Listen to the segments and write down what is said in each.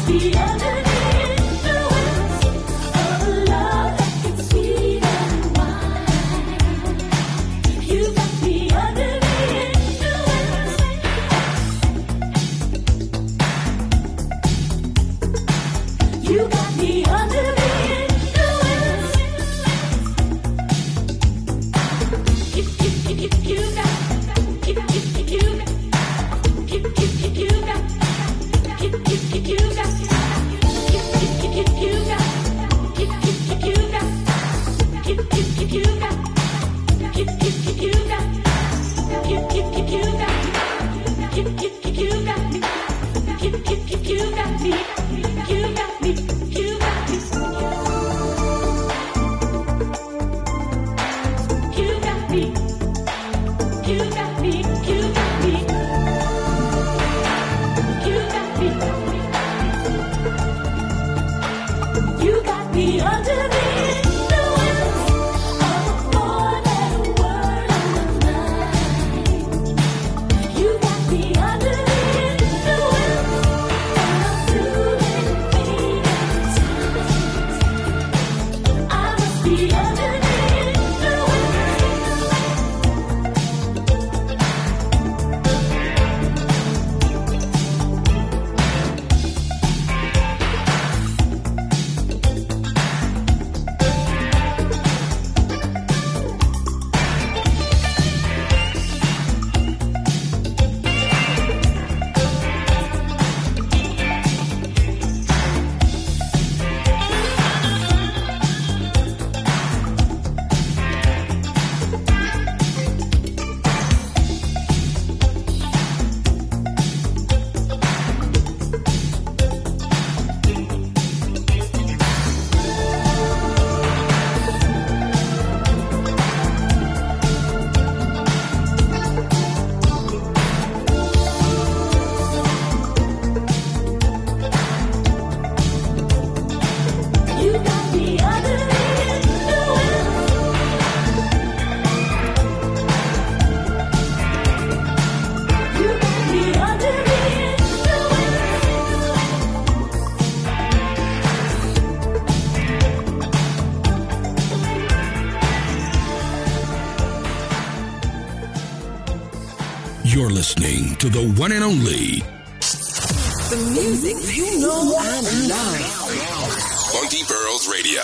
You're listening to the one and only the music you know and love. Funky Pearls Radio.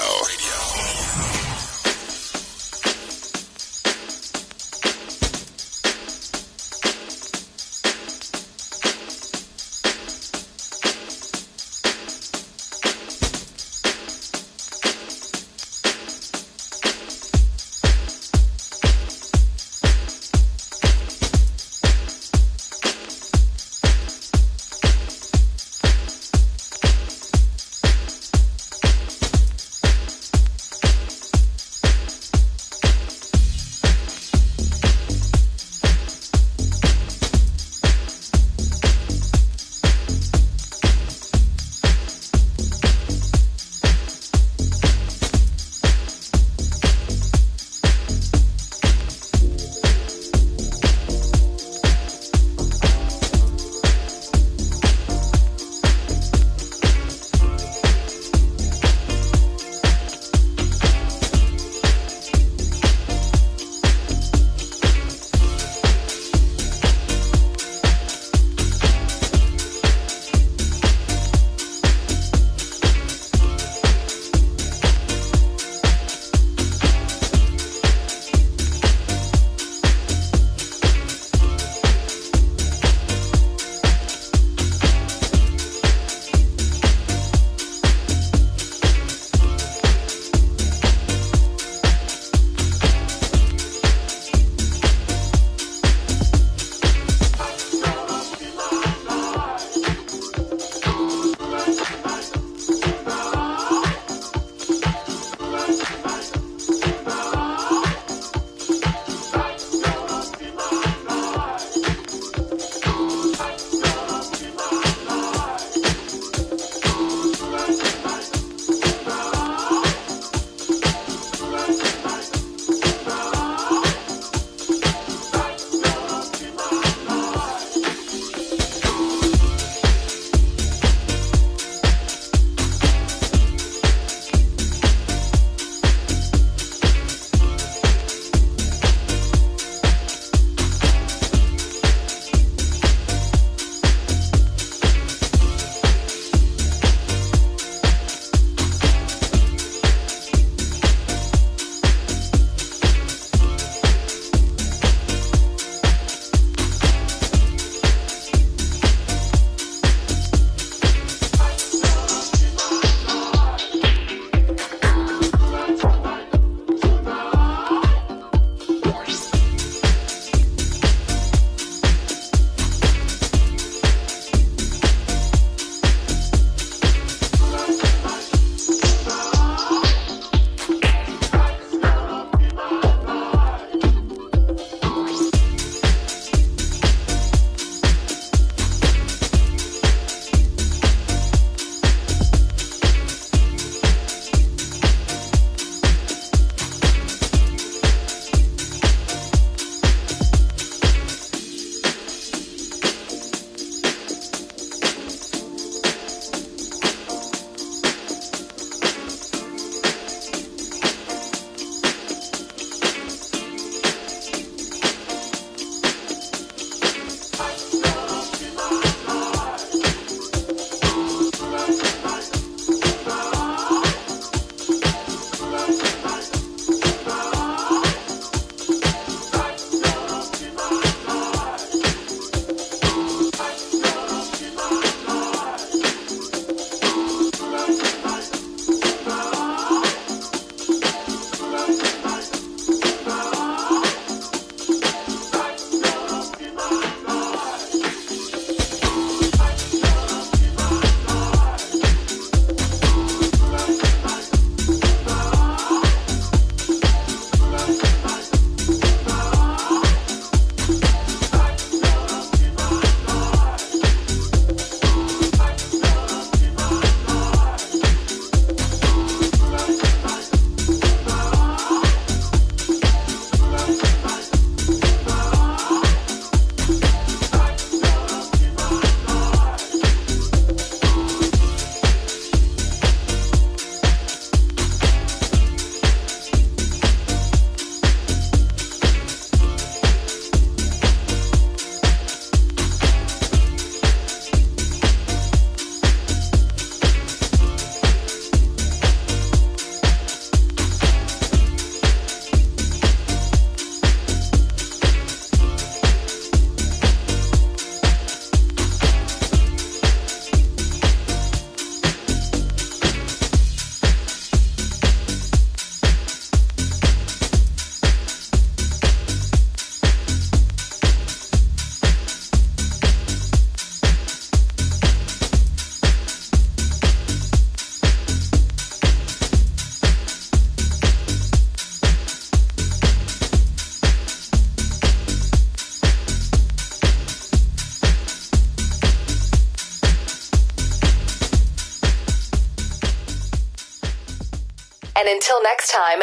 And until next time,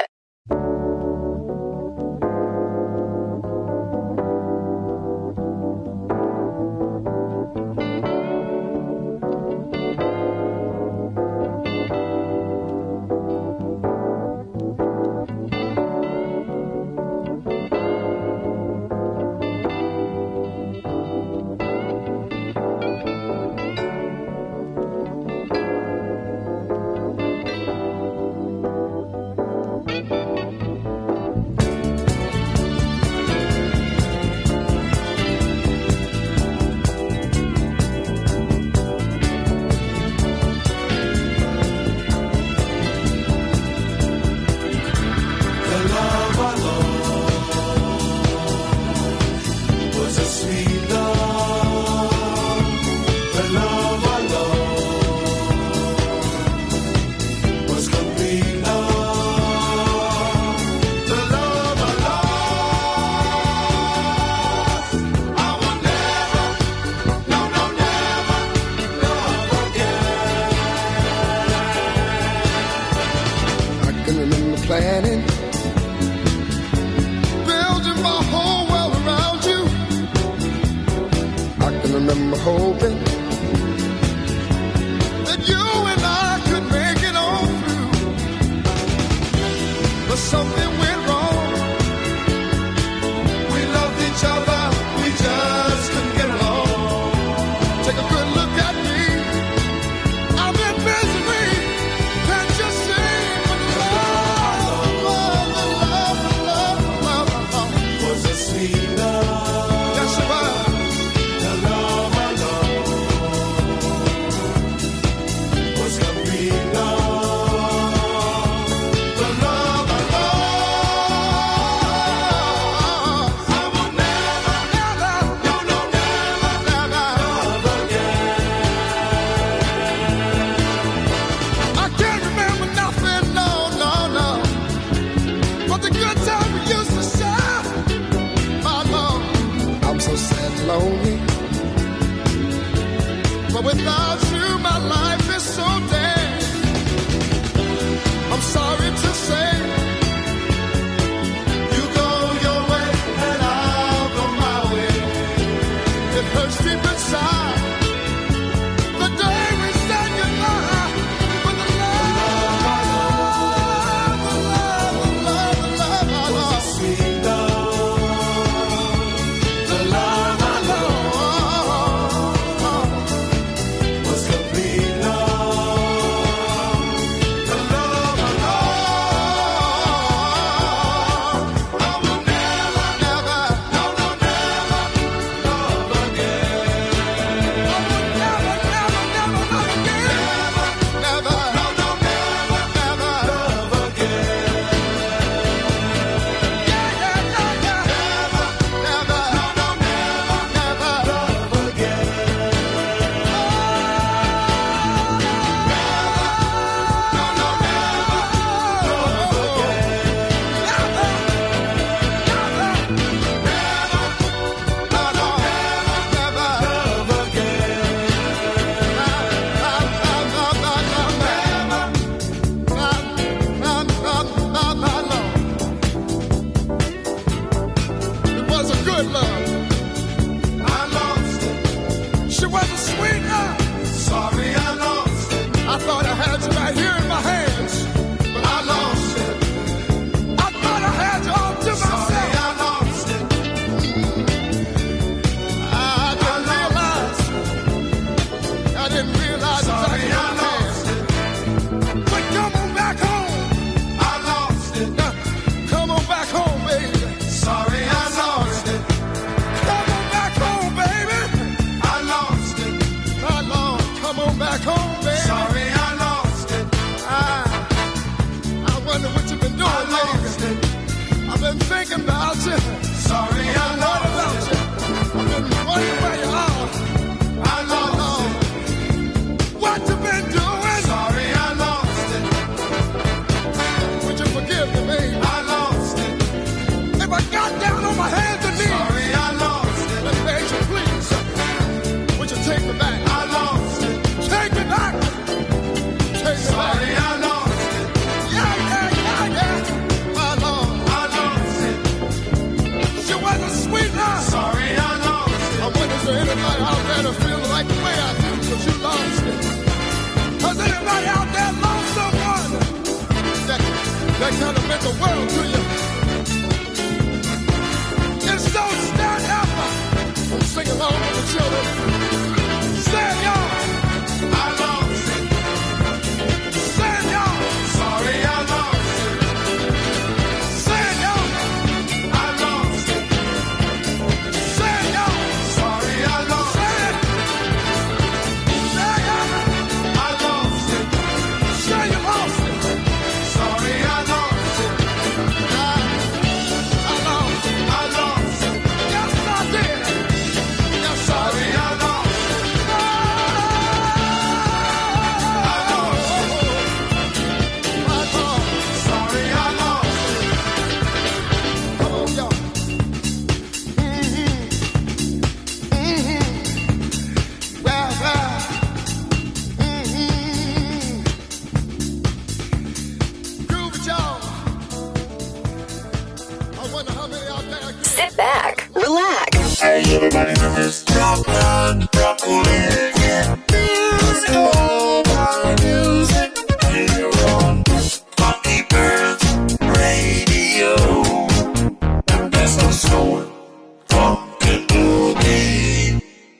Everybody in this dropland, broccoli, yeah. Let's go by music here on Funky Pearls Radio. And that's our soul, funky boogie.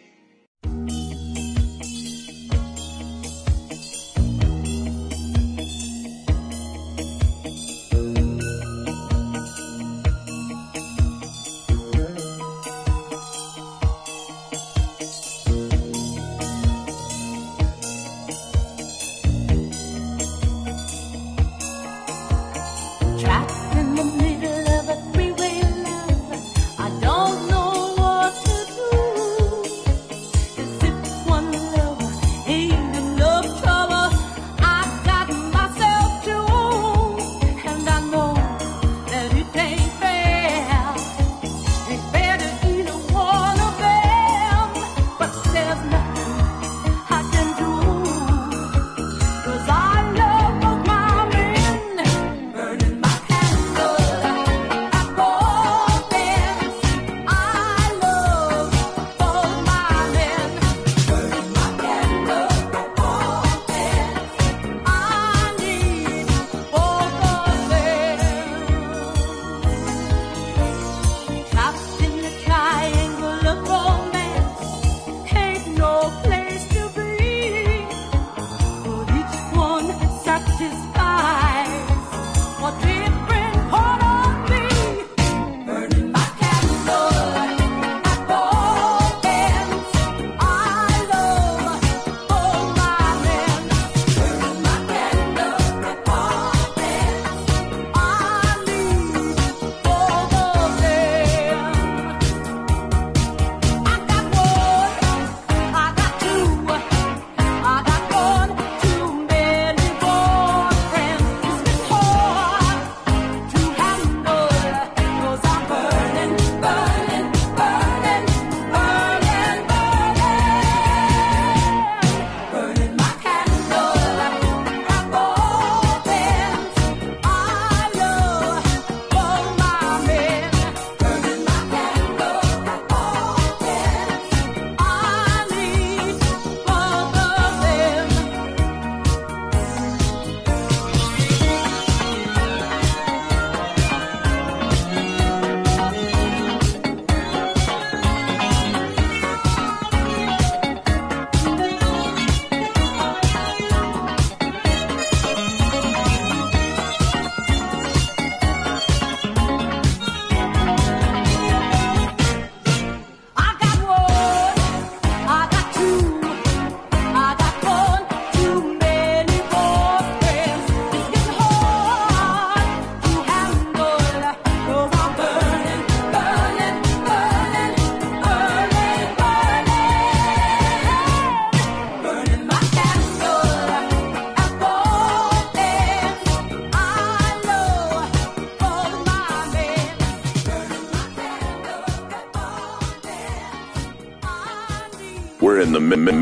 We're in the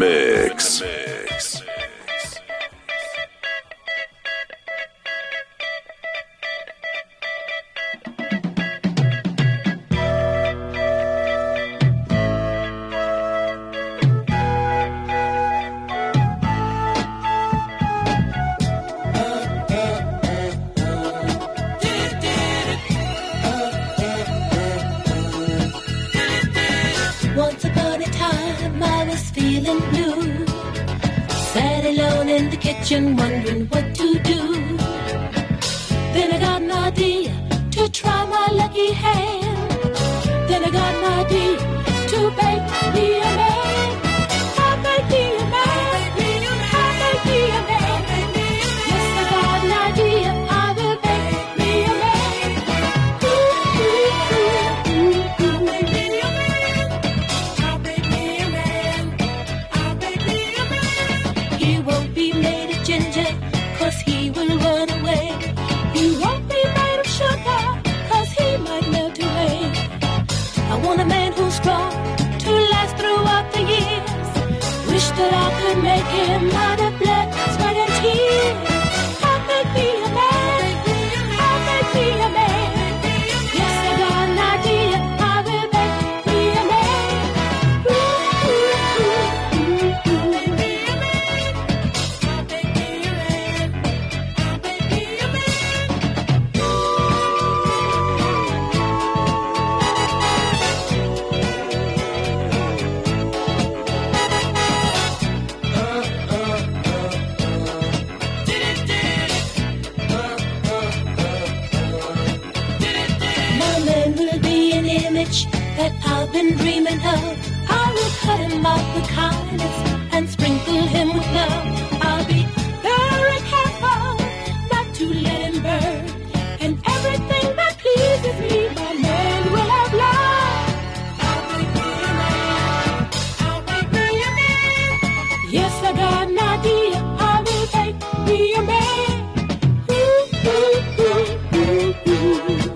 mix. Once upon a time I was feeling blue, sat alone in the kitchen wondering what to do. Then I got an idea to try my lucky hand. Then I got an idea to bake me a man. I'll bake me a man. I'll bake me a man. Yes, I got an idea. I will bake me a man. Ooh, ooh, ooh, ooh, ooh. Bake me a man. I'll bake me a man. I'll bake me a man. He won't be made of ginger, 'cause he will run away. He won't be made of sugar, 'cause he might melt away. I want a man who's strong to last throughout the years. Wish that I could make him out of blood, sweat and tears. I'll make me a man. I'll make me a man. Yes, I got an idea. I will make me a man. rich that I've been dreaming of. I will cut him out with kindness and sprinkle him with love. I'll be very careful not to let him burn. And everything that pleases me, my man will have love. I'll make me a man. I'll make me a man. Yes, I got an idea. I will make me a man. Ooh, ooh, ooh, ooh, ooh.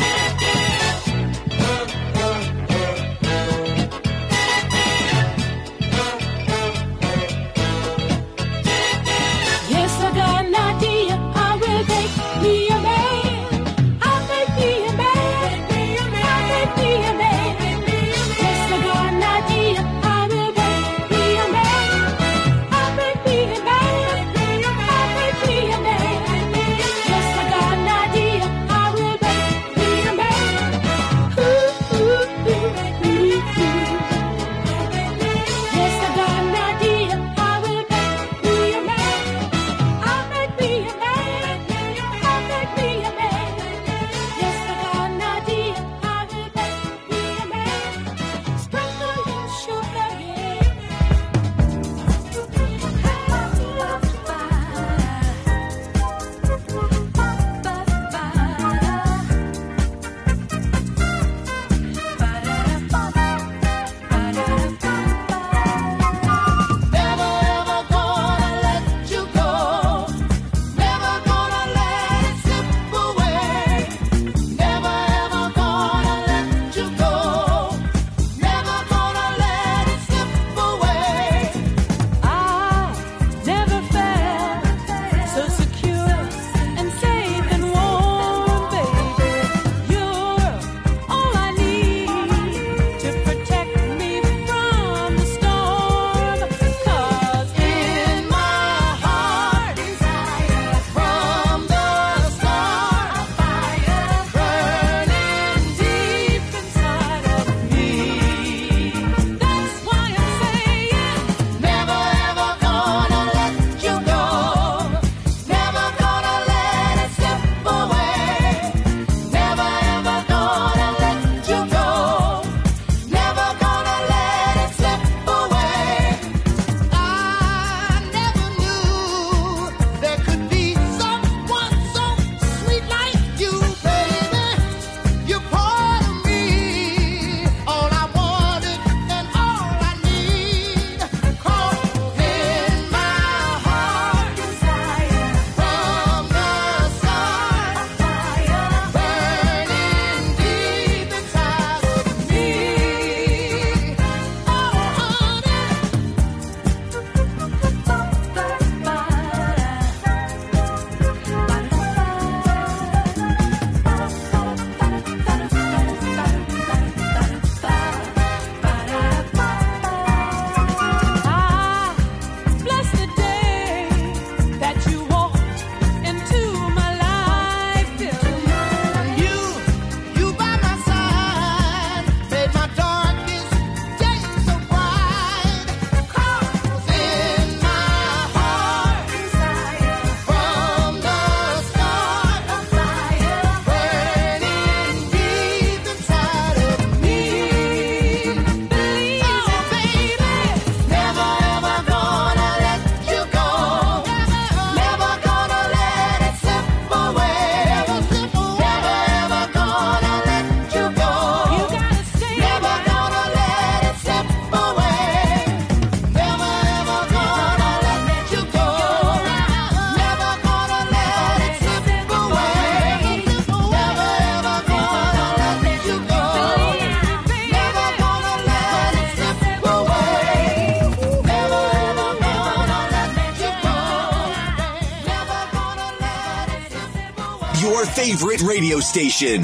Your favorite radio station.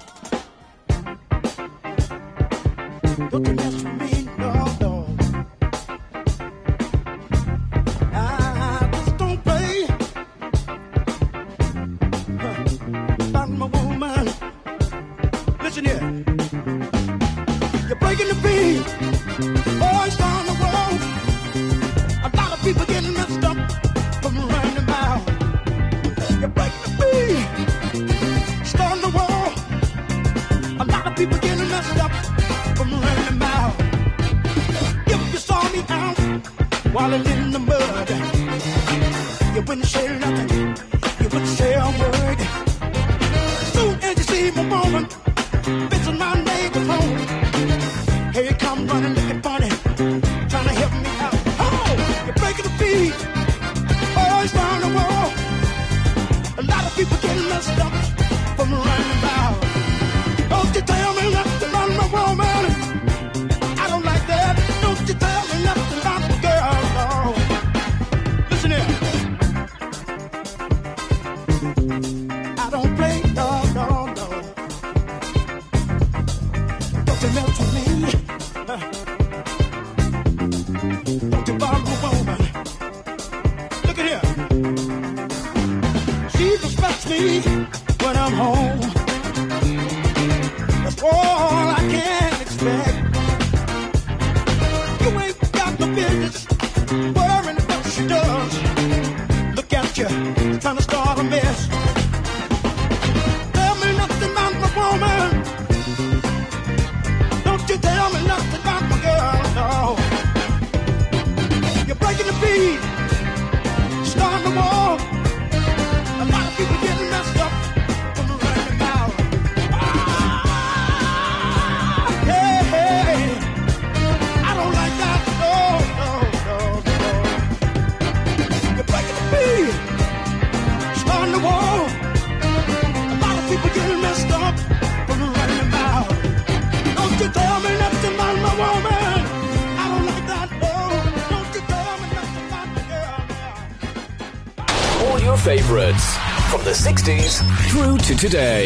Don't you mess with me, no. I just don't play. About my woman. Listen here. You're breaking the beat. Boys on the road. A lot of people getting messed up from running them out. You're breaking the beat. Starting the wall. A lot of people getting messed up. wallowing in the mud. You wouldn't say nothing, you wouldn't say a word. Soon as you see my woman, fixing my neighbor's home, here you come running, looking funny, trying to help me out. Oh, you're breaking the beat, oh, it's round the wall. A lot of people getting messed up from running about. Don't you tell me nothing about my woman, I don't like that. Don't you tell me nothing about the girl, no. Listen here, I don't play, no, no, no. Don't you mess with me, don't you bother my woman. Look at here, she respects me when I'm home. That's all I can expect. You ain't got no business worrying what she does. Look at you, trying to start a mess. Tell me nothing about my woman. Don't you tell me nothing about my girl, no. You're breaking the beat, starting the war. A lot of people getting messed up from the running about. Hey, hey, I don't like that. No, no, no, no. You're breaking the beat, starting the war. A lot of people getting messed up from the running about. Don't you tell me nothing about my woman. I don't like that. No, don't you tell me nothing about my girl. All your favorites from the 60s through to today.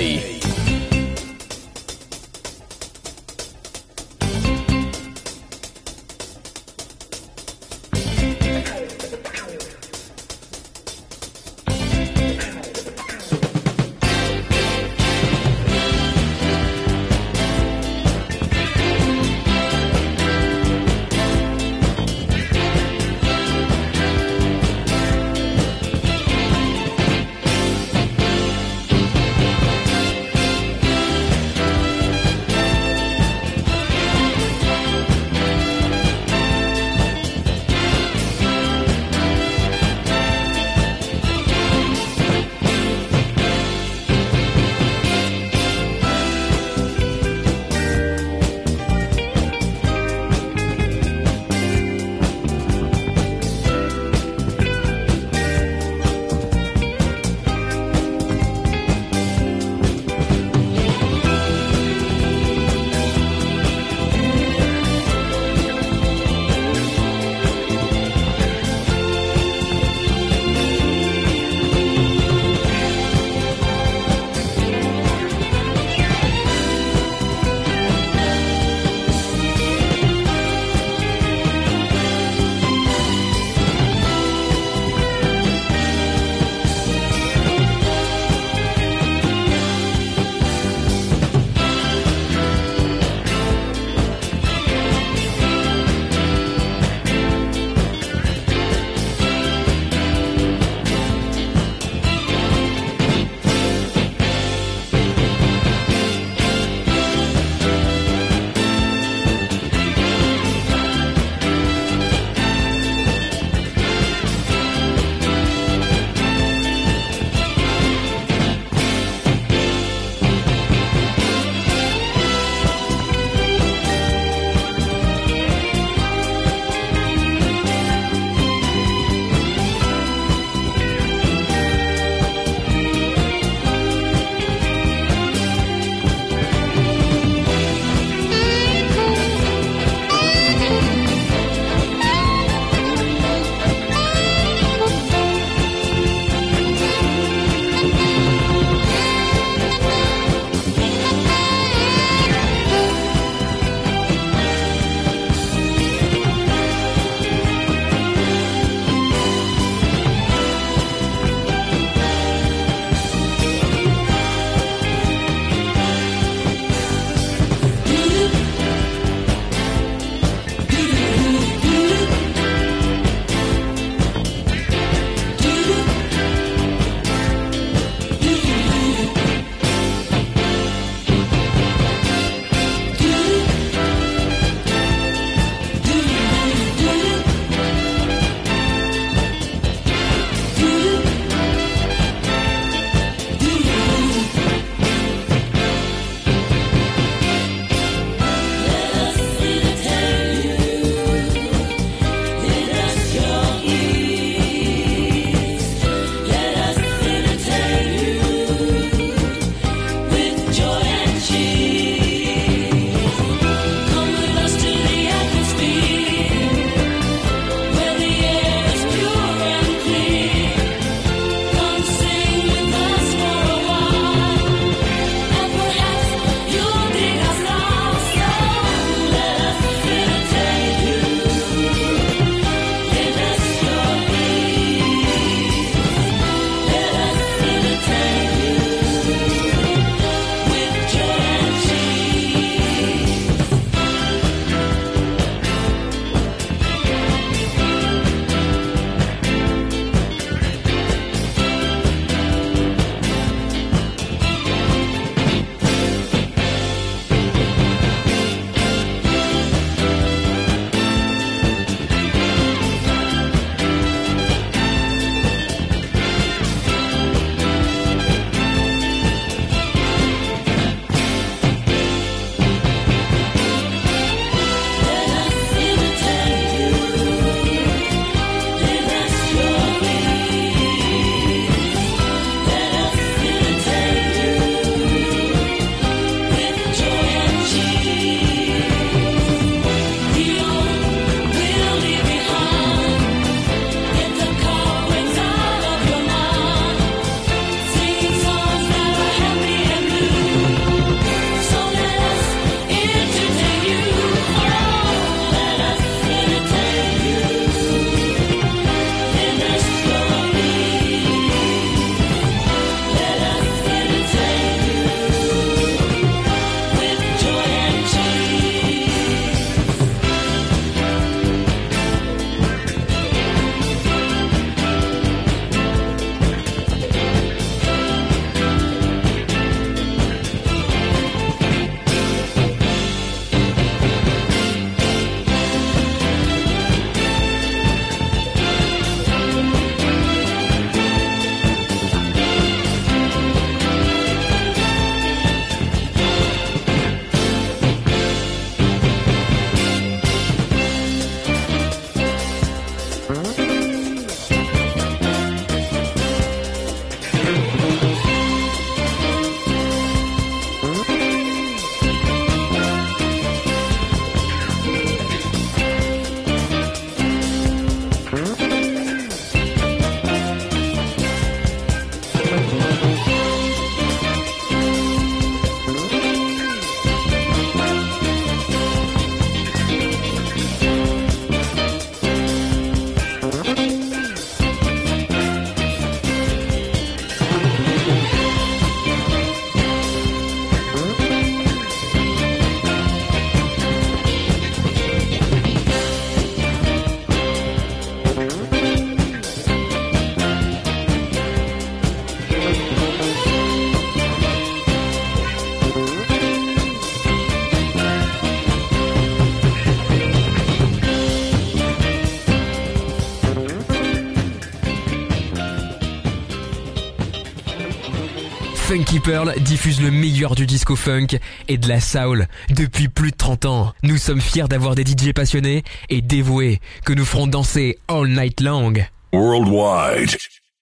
Funky Pearl diffuse le meilleur du disco funk et de la soul depuis plus de 30 ans. Nous sommes fiers d'avoir des DJ passionnés et dévoués que nous ferons danser all night long. Worldwide.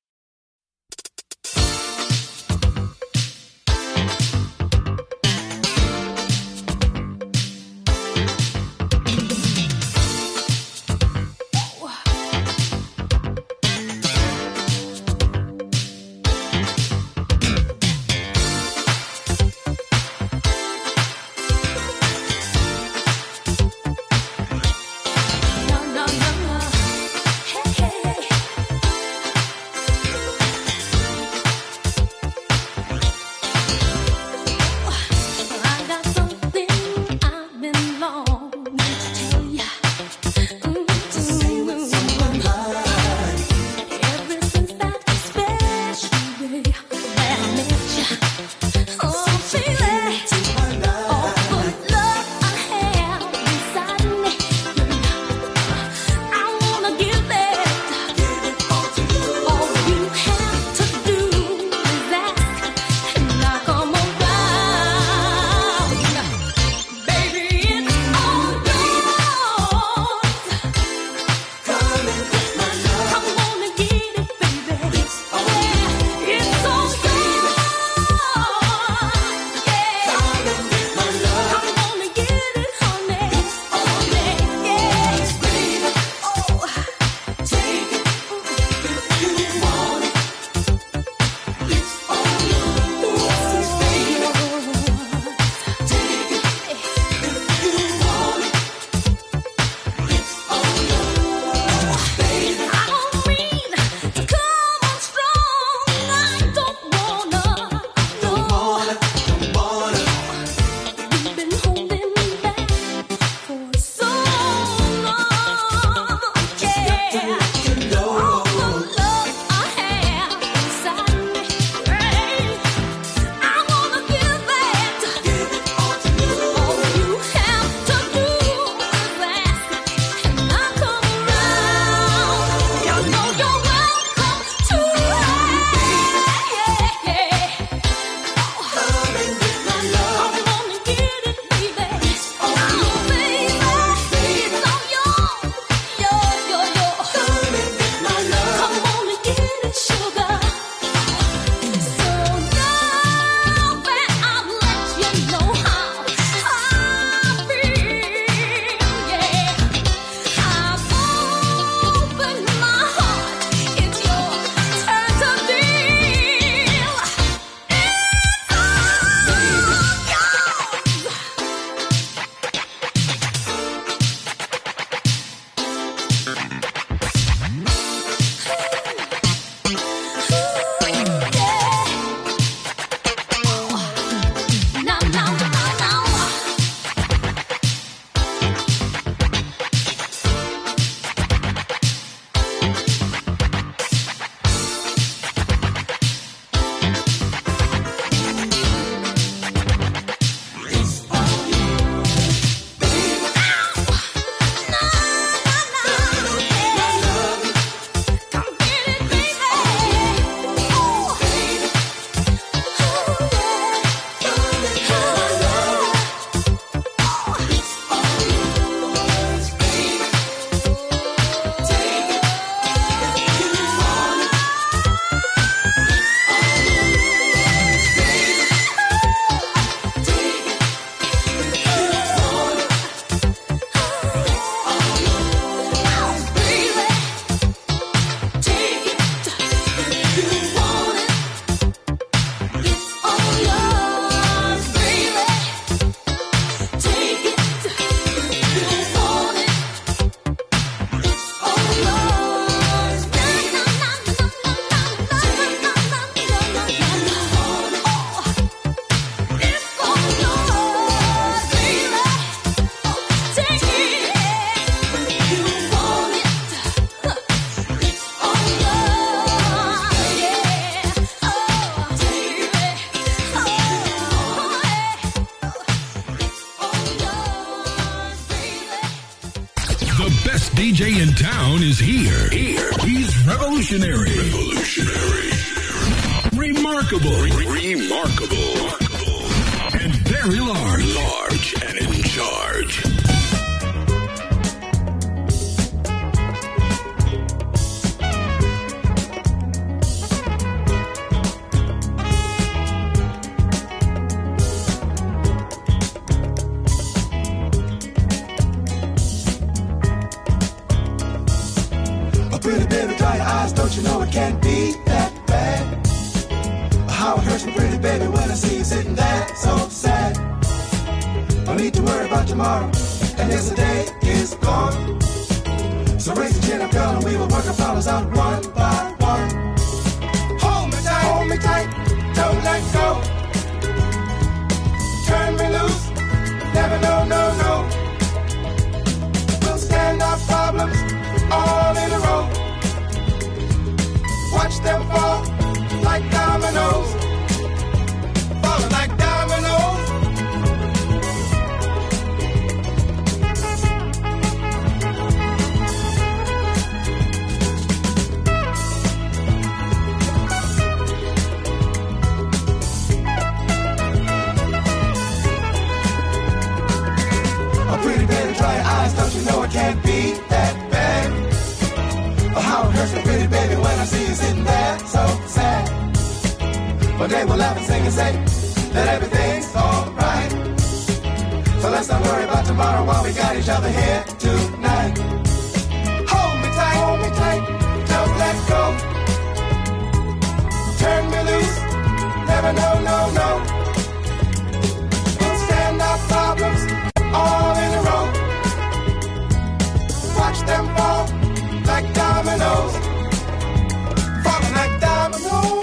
DJ in town is here. He's revolutionary. Remarkable. Remarkable. And very large. Large and in charge. Pretty baby, dry your eyes, don't you know it can't be that bad? How it hurts me, pretty baby, when I see you sitting there so sad. No need to worry about tomorrow, and yesterday is gone. So raise your chin up, girl, and we will work our problems out one by one. Hold me tight, don't let go. Turn me loose, never no. We'll stand our problems all in a row. Watch them fall like dominoes. Falling like dominoes. Oh, pretty baby, dry your eyes, don't you know it can't be that bad? Oh, how it hurts me, pretty baby, when I see you sitting there so sad. One day we'll laugh and sing and say that everything's alright. So let's not worry about tomorrow while we got each other here tonight. Hold me tight, don't let go. Turn me loose, never no. We'll stand our problems all in a row. Watch them fall like dominoes. Falling like dominoes.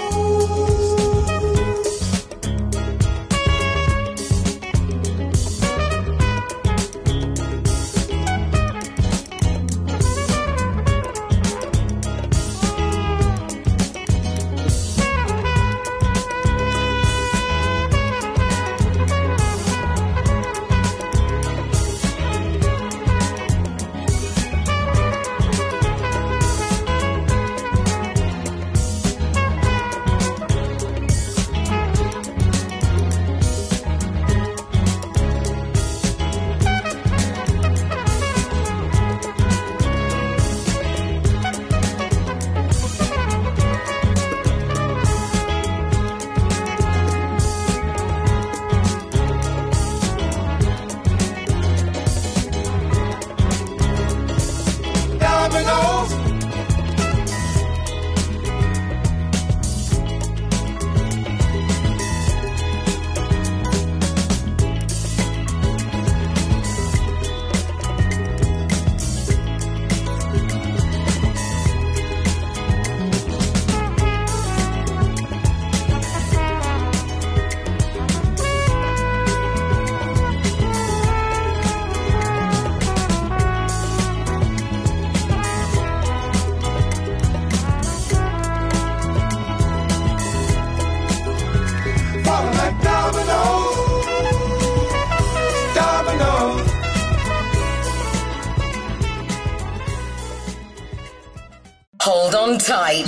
Hold on tight.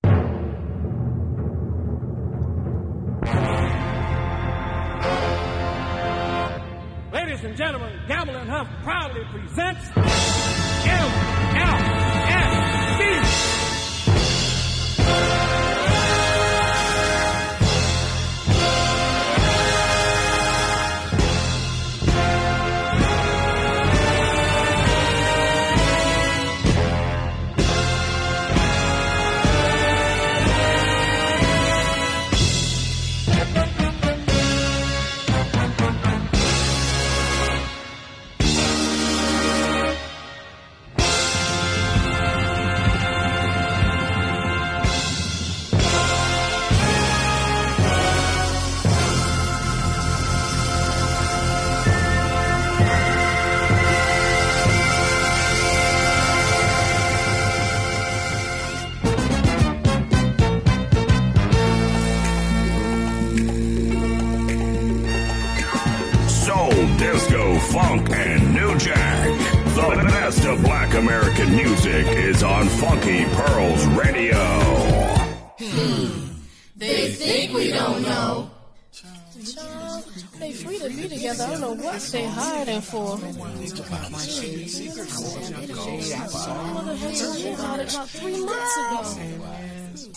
Ladies and gentlemen, Gamble and Huff proudly presents LLSD. Disco, funk, and new jack. The best of black American music is on Funky Pearls Radio. They think we don't know. Child, they free to be together. I don't know what they hiding for. Mother had told me about it about 3 months ago.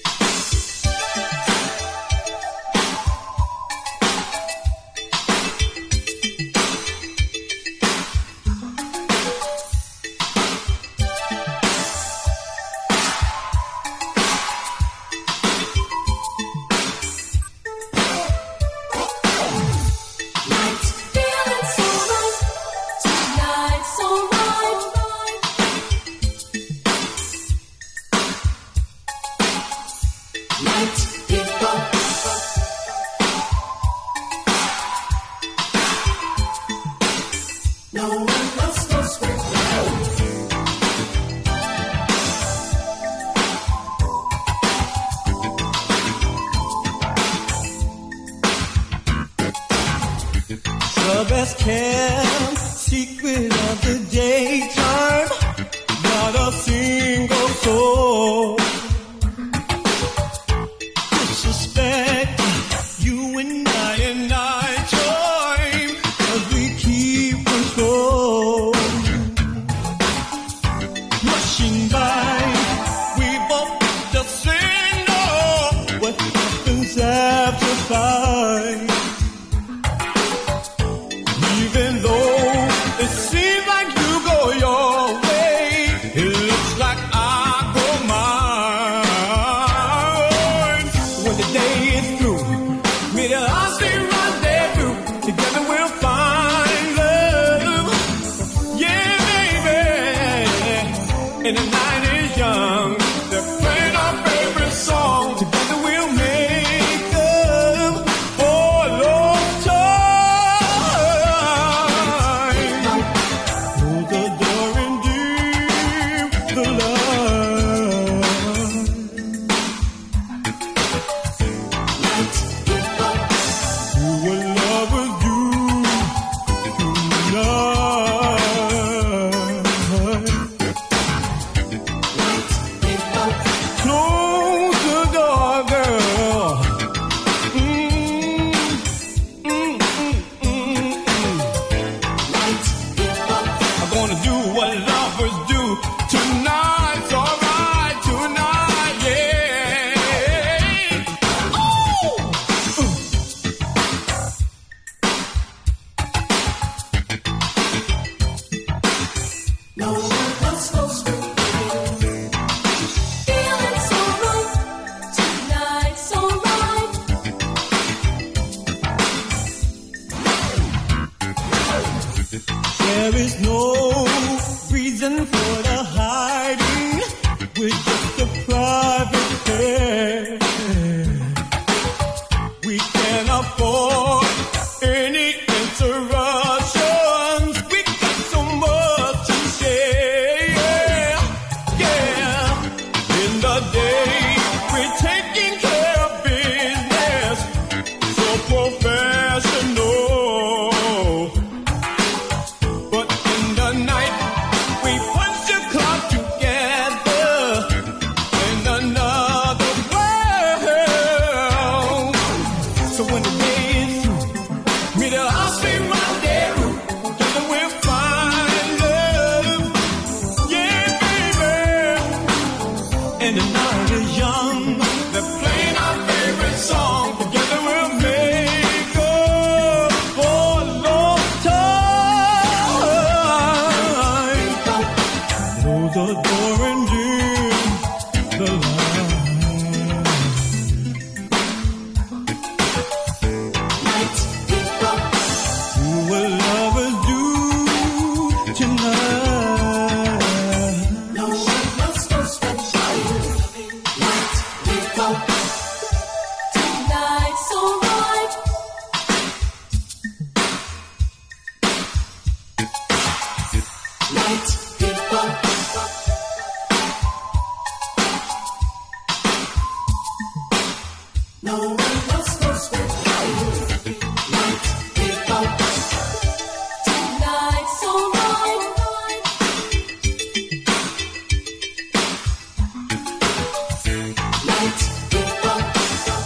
The best kept secret of the daytime, not a single soul disrespect you and I join as we keep control. Rushing by, we both just say no. What happens after 5? Even though it seems like you go your way, it looks like I go mine. When the day is through, meet us, I'll stay right there through. Together we'll find love. Yeah, baby. And the night is young. They're playing our favorite song. Together we'll make up for a long time. There is no reason for the hiding. We're just a private pair. We can't afford any interruptions. We got so much to share. Yeah. In the day, we're taking care of business. So professional. And the night is young. They're playing our favorite song. Together we'll make up for a long time. Close the door and dim the light. Do what lovers do tonight. No one else goes for Tonight's alright. Night people. No one else goes with night people. Tonight's alright. Night people.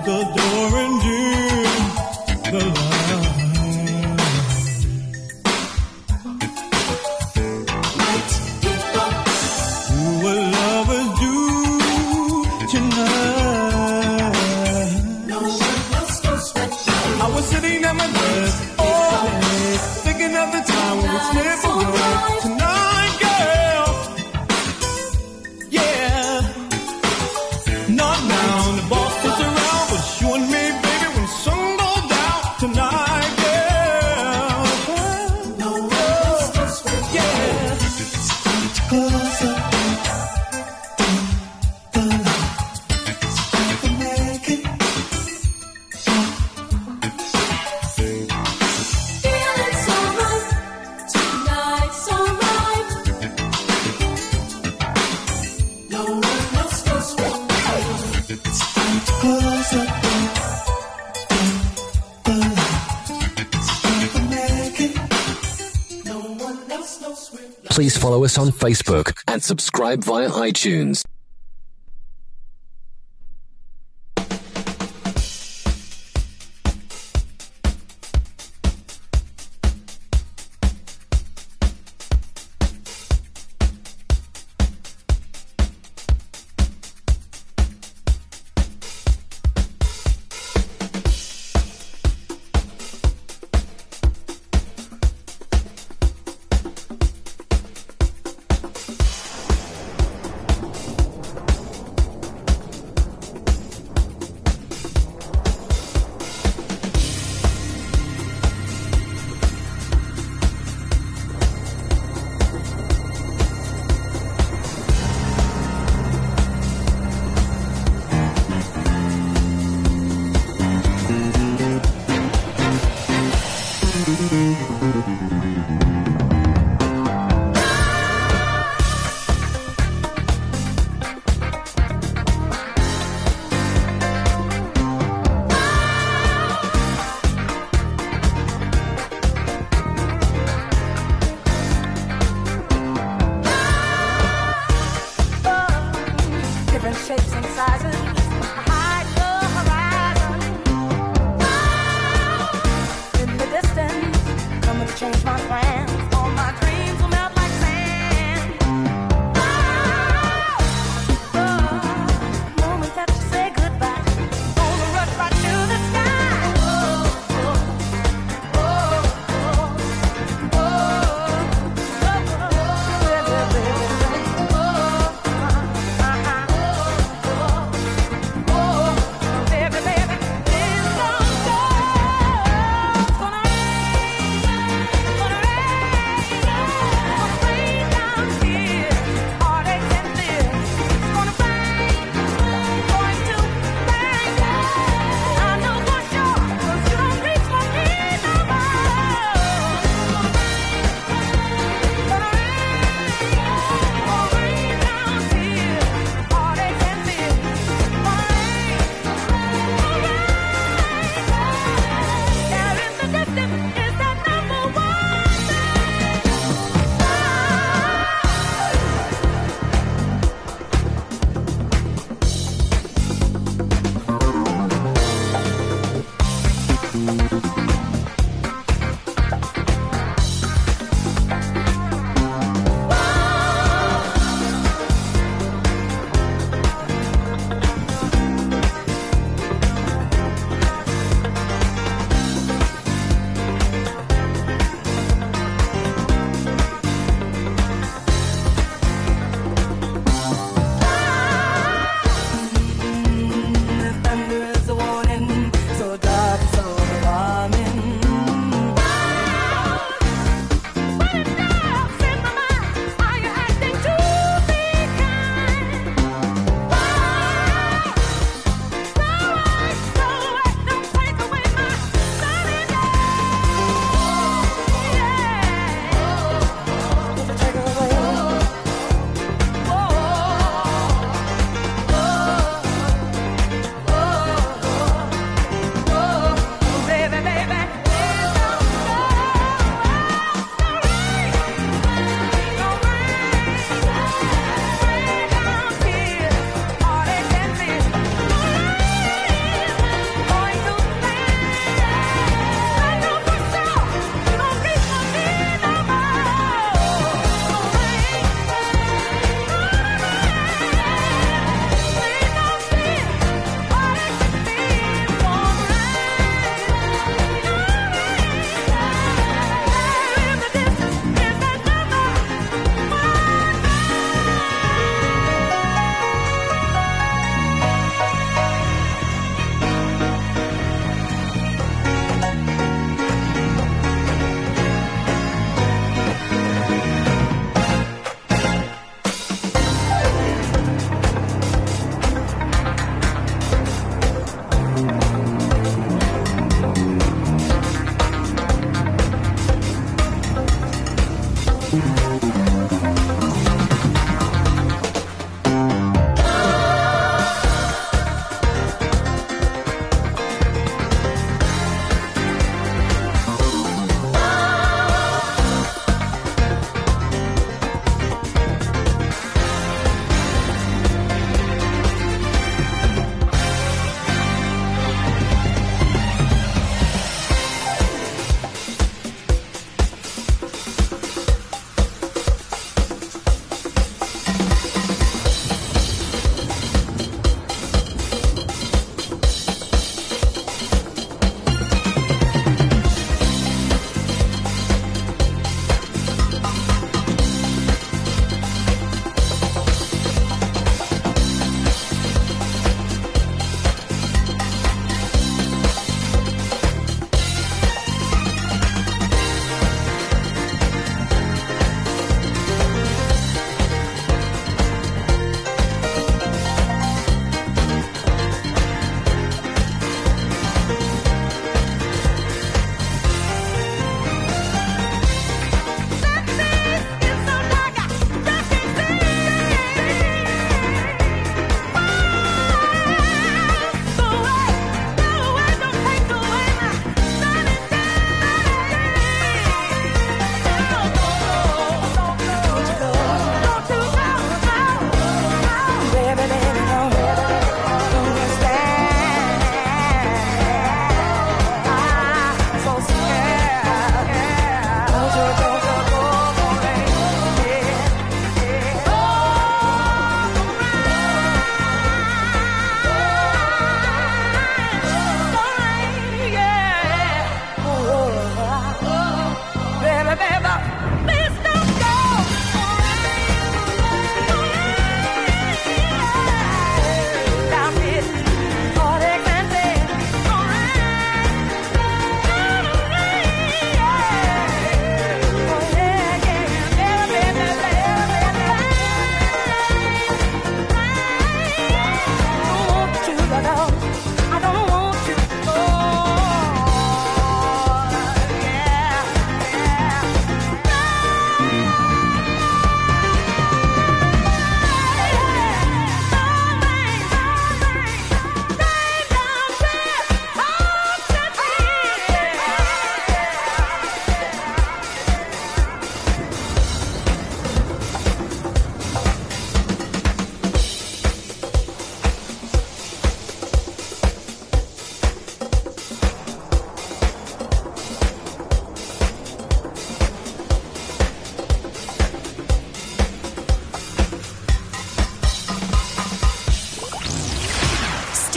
the door and dim the light. Night people, Do what lovers do tonight. no one else knows what I was sitting at my desk all day, thinking of the time we would slip away tonight, girl. Yeah. Not now, the boss sits around, but you and me, baby, when the sun goes down tonight, girl. no one else knows what Yeah. Closer. The light. Make it. feeling so right. Tonight so right. No one else knows what Closer. The light. Make it. no one else knows what Please follow us on Facebook and subscribe via iTunes.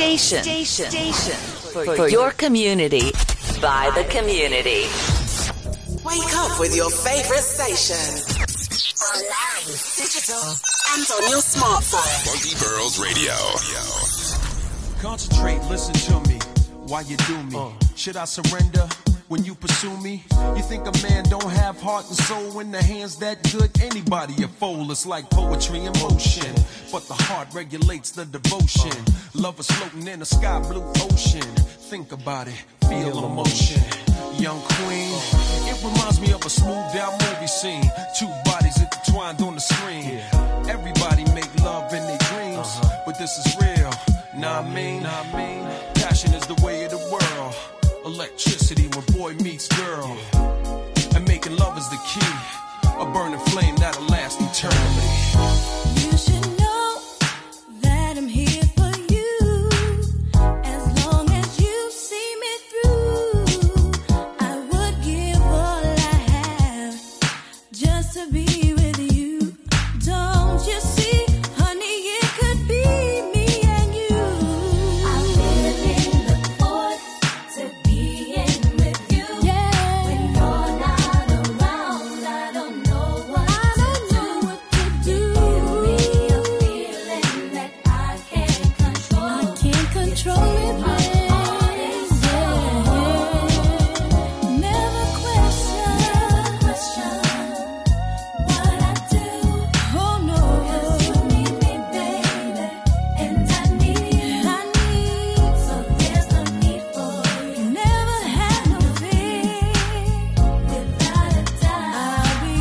Station. For your community. By the community. Wake up with your favorite station. Online, digital, and on your smartphone. Funky Pearls Radio. Concentrate, listen to me while you do me. Should I surrender when you pursue me? You think a man don't have heart and soul in the hands that good? Anybody a fool, it's like poetry in motion. But the heart regulates the devotion. Love is floating in a sky blue ocean. Think about it, feel emotion. Young queen, it reminds me of a smooth down movie scene. Two bodies intertwined on the screen. Everybody make love in their dreams, but this is real. Nah, I mean, passion is the way of the world. Electricity when boy meets girl, and making love is the key. A burning flame that'll last eternally. You should know that I'm here for you. As long as you see me through, I would give all I have just to be with you. Don't you see, honey, it could be me and you. I really look forward to being with you. Yeah. When you're not around, I don't know what to do. Give me a feeling that I can't control. I can't control it, babe. Never question what I do. Oh no, 'cause you need me, baby, and I need. So there's no need for you. Never had no fear. Without a doubt, I'll be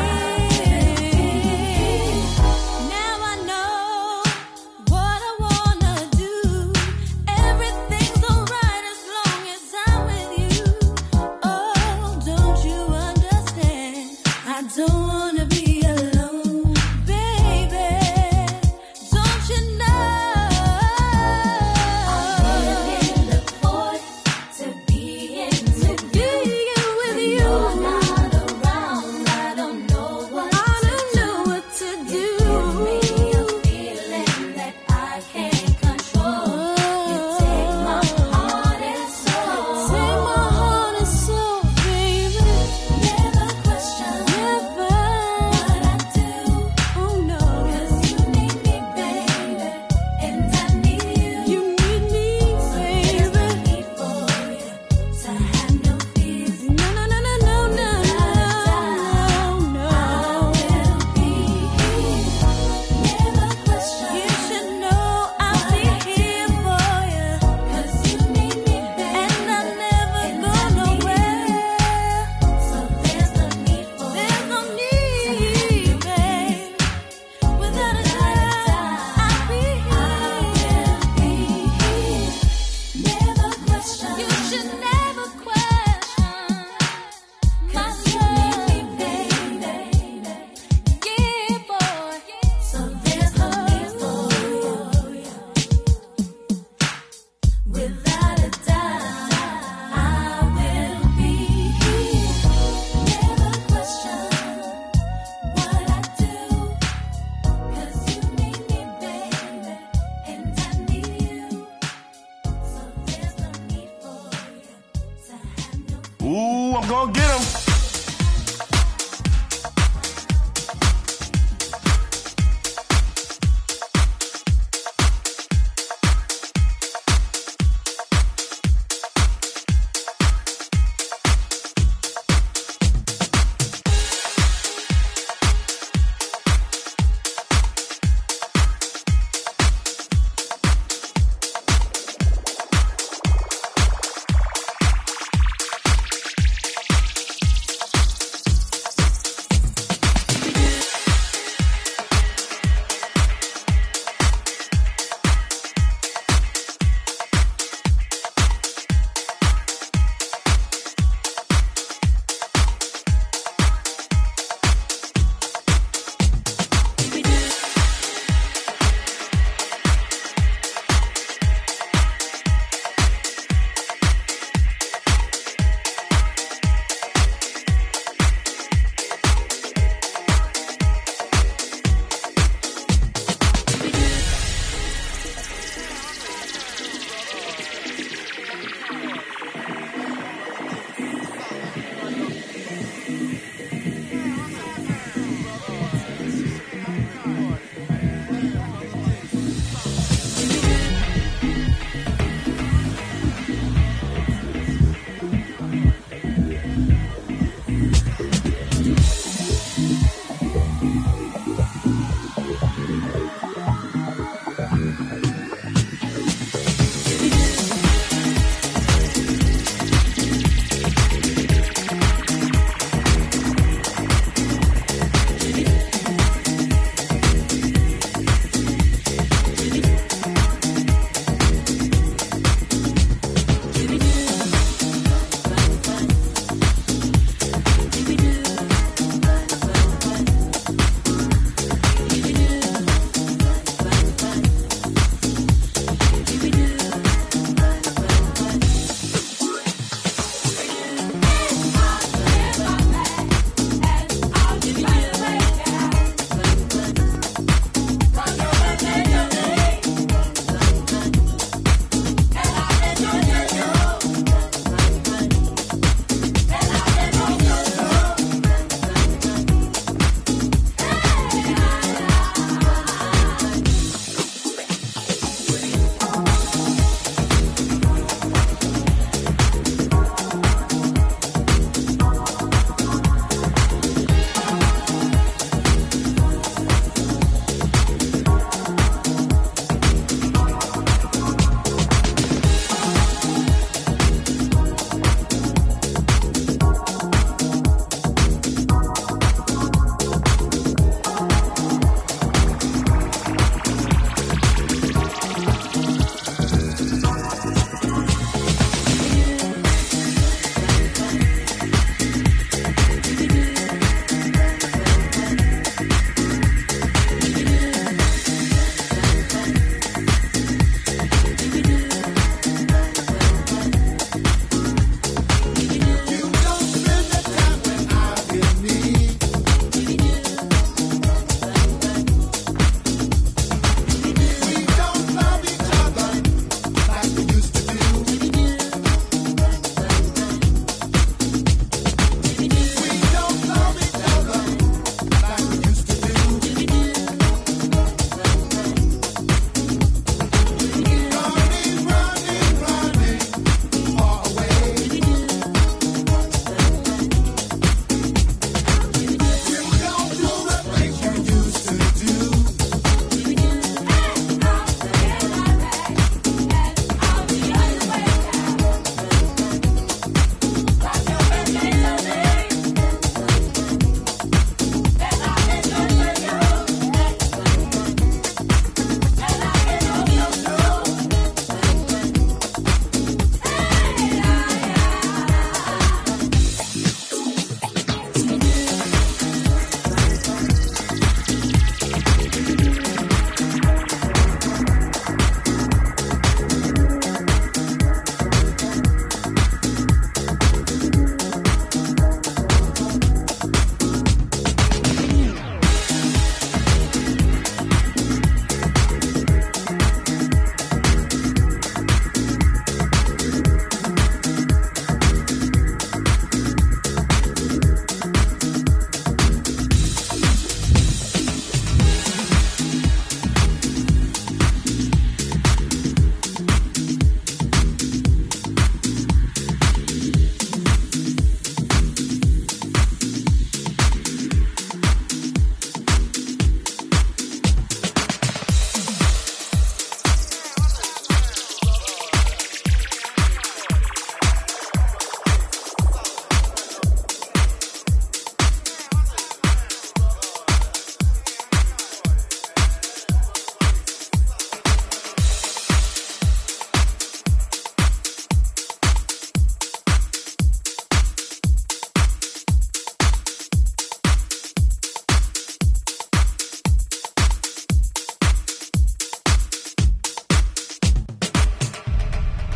here. Now I know what I wanna do. Everything's alright as long as I'm with you. Oh, don't you understand? I don't wanna be alone, baby. Don't you know? I really look forward to being with you. When you're not around, I don't know what to do. Give me a feeling that I can't control. You take my heart and soul. Take my heart and soul, baby. Never question what I do. Oh no, 'cause you need me, baby, and I need you. You need me, baby. There's no need for you to have no fears. No. I will be here. Never question. You should know I'll be here for you, 'cause you need me, baby, and I never go nowhere. So there's no need for you. There's no need, babe. Without a doubt, I'll be here. Never question. You should never question my love, baby. Yeah, boy. So there's no need for you. Without a doubt, I will be here. Never question what I do, 'cause you need me, baby, and I need you. So there's no need for you to have no. Ooh, I'm gonna get him.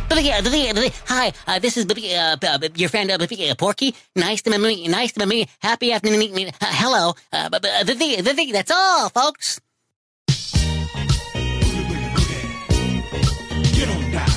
Hi, this is your friend Porky. Nice to meet me. Happy afternoon. Hello. That's all, folks. Get on down.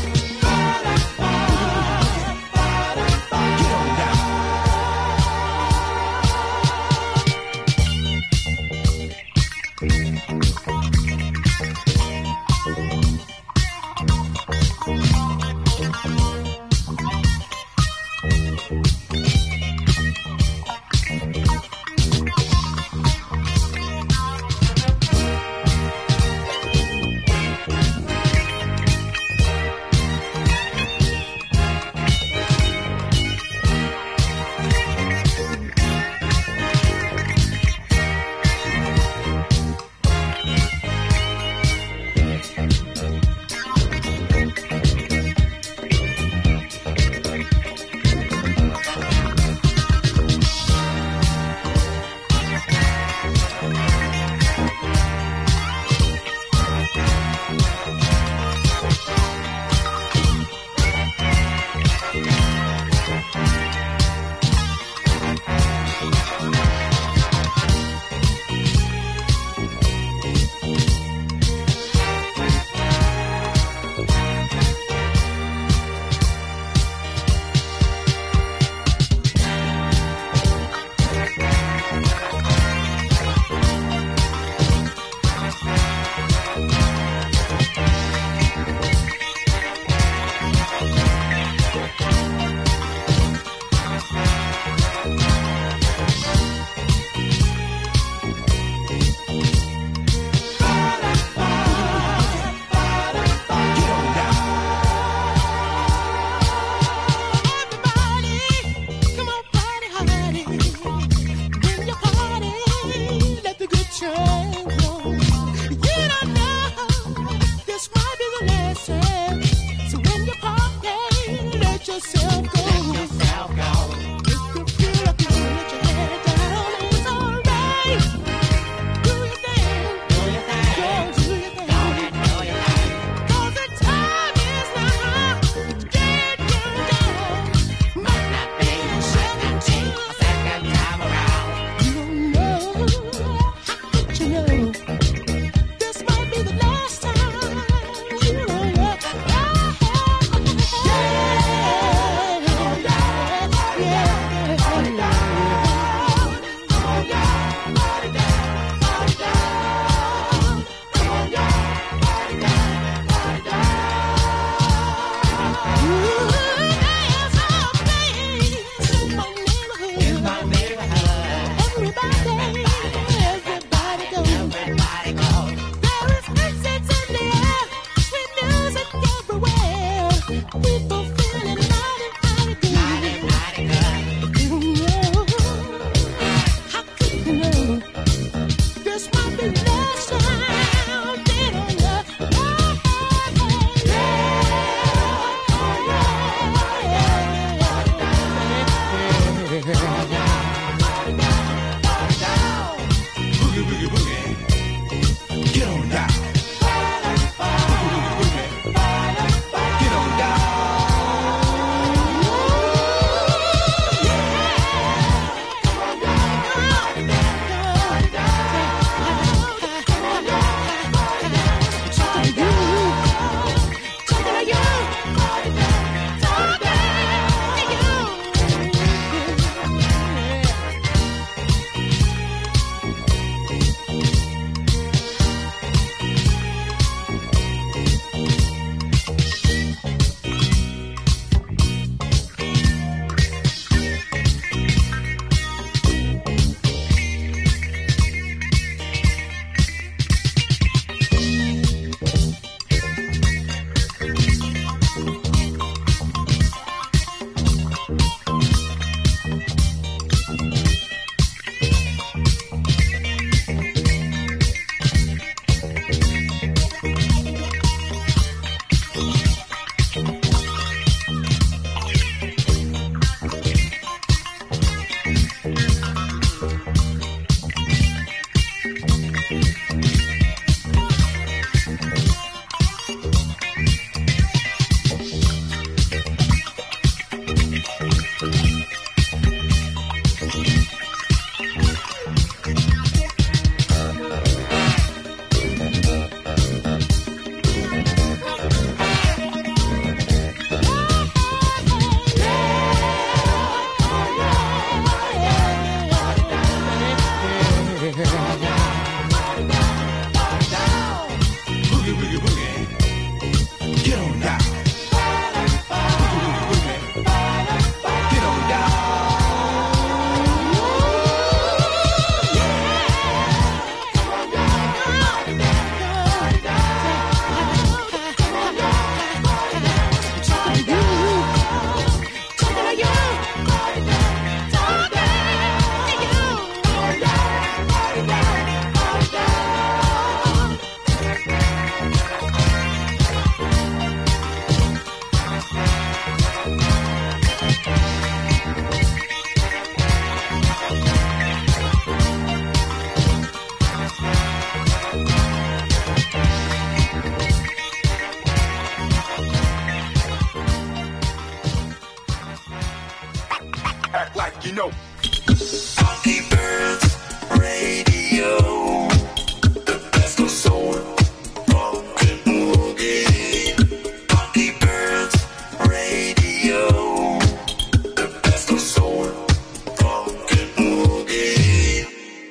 You know. Funky Birds Radio. The best of soul, funk and boogie. Funky Birds Radio. The best of soul, funk and boogie.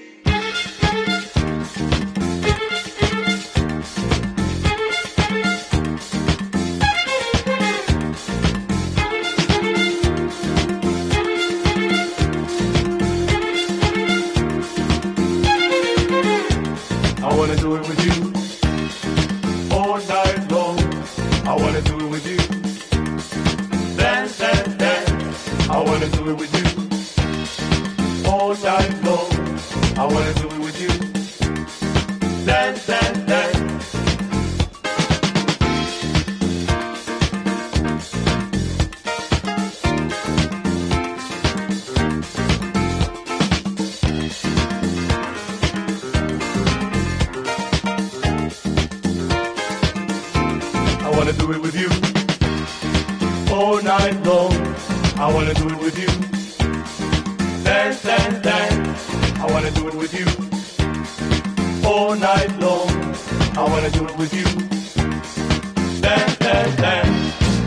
I wanna do it with you all night long. I wanna do it with you. Dance, dance, dance. I wanna do it with you all night long. I wanna do it with you. Dance, dance, dance. I wanna do it with you all night long. I wanna do it with you. Dance, dance, dance. I wanna do it with you all night long. I wanna do it with you. Dance, dance, dance.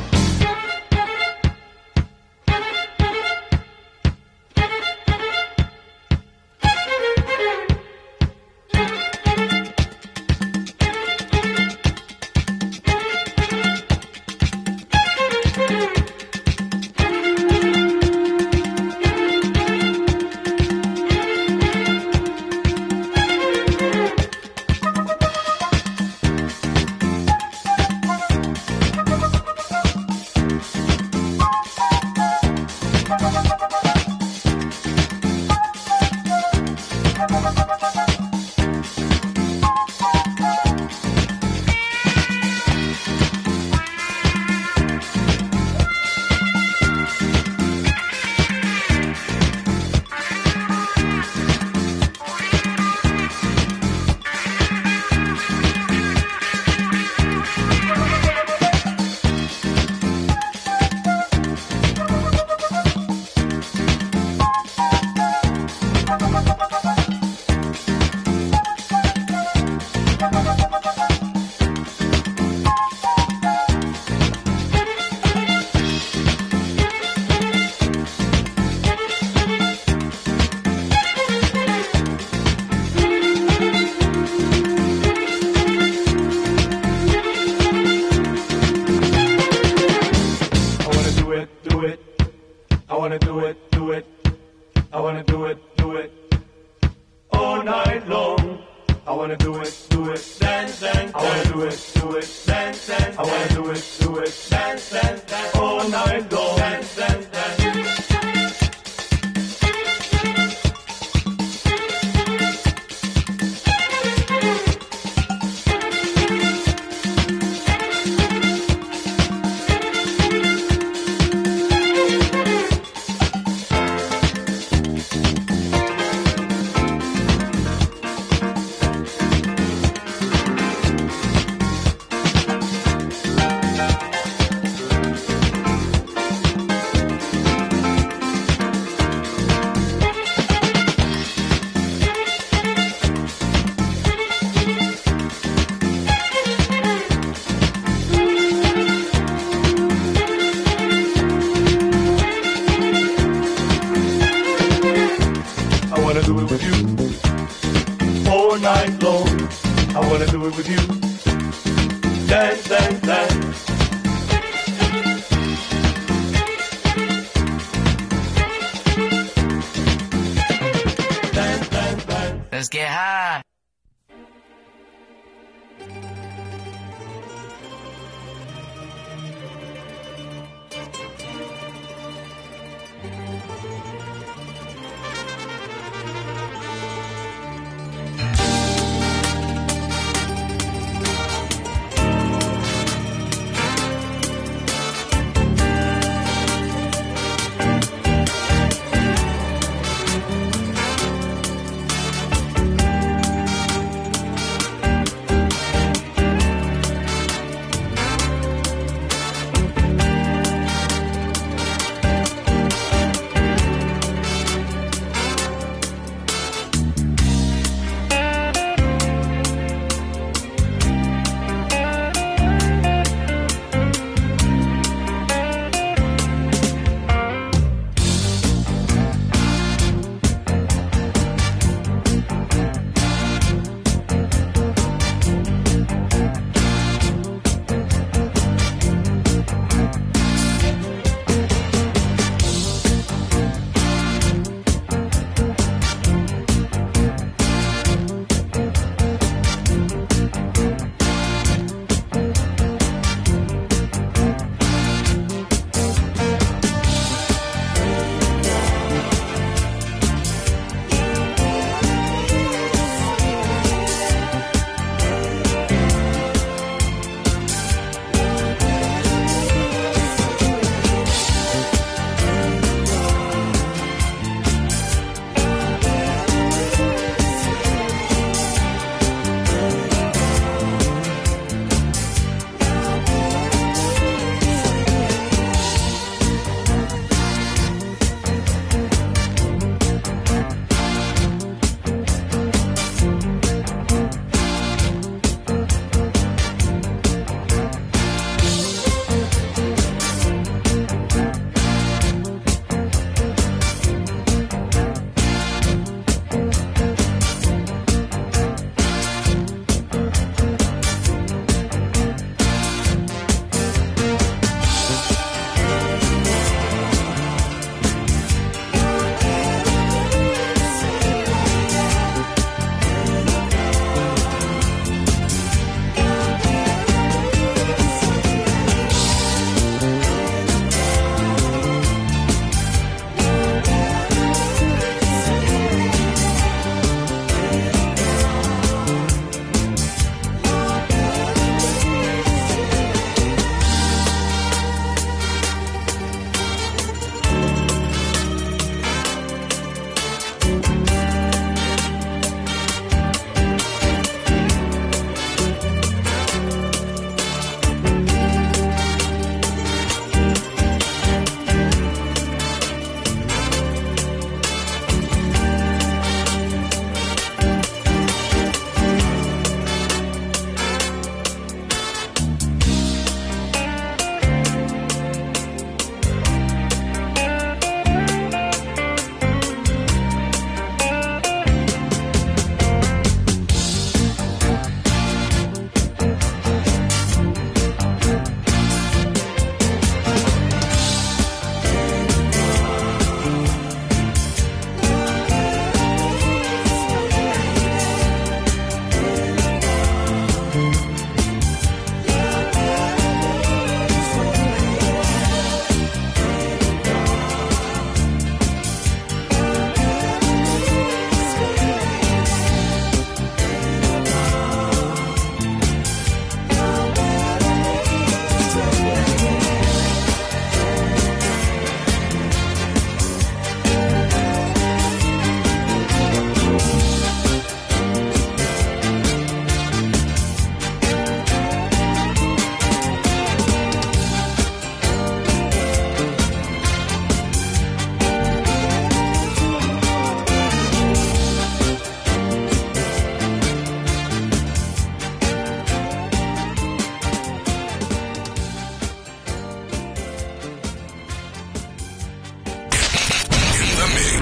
Let's get high.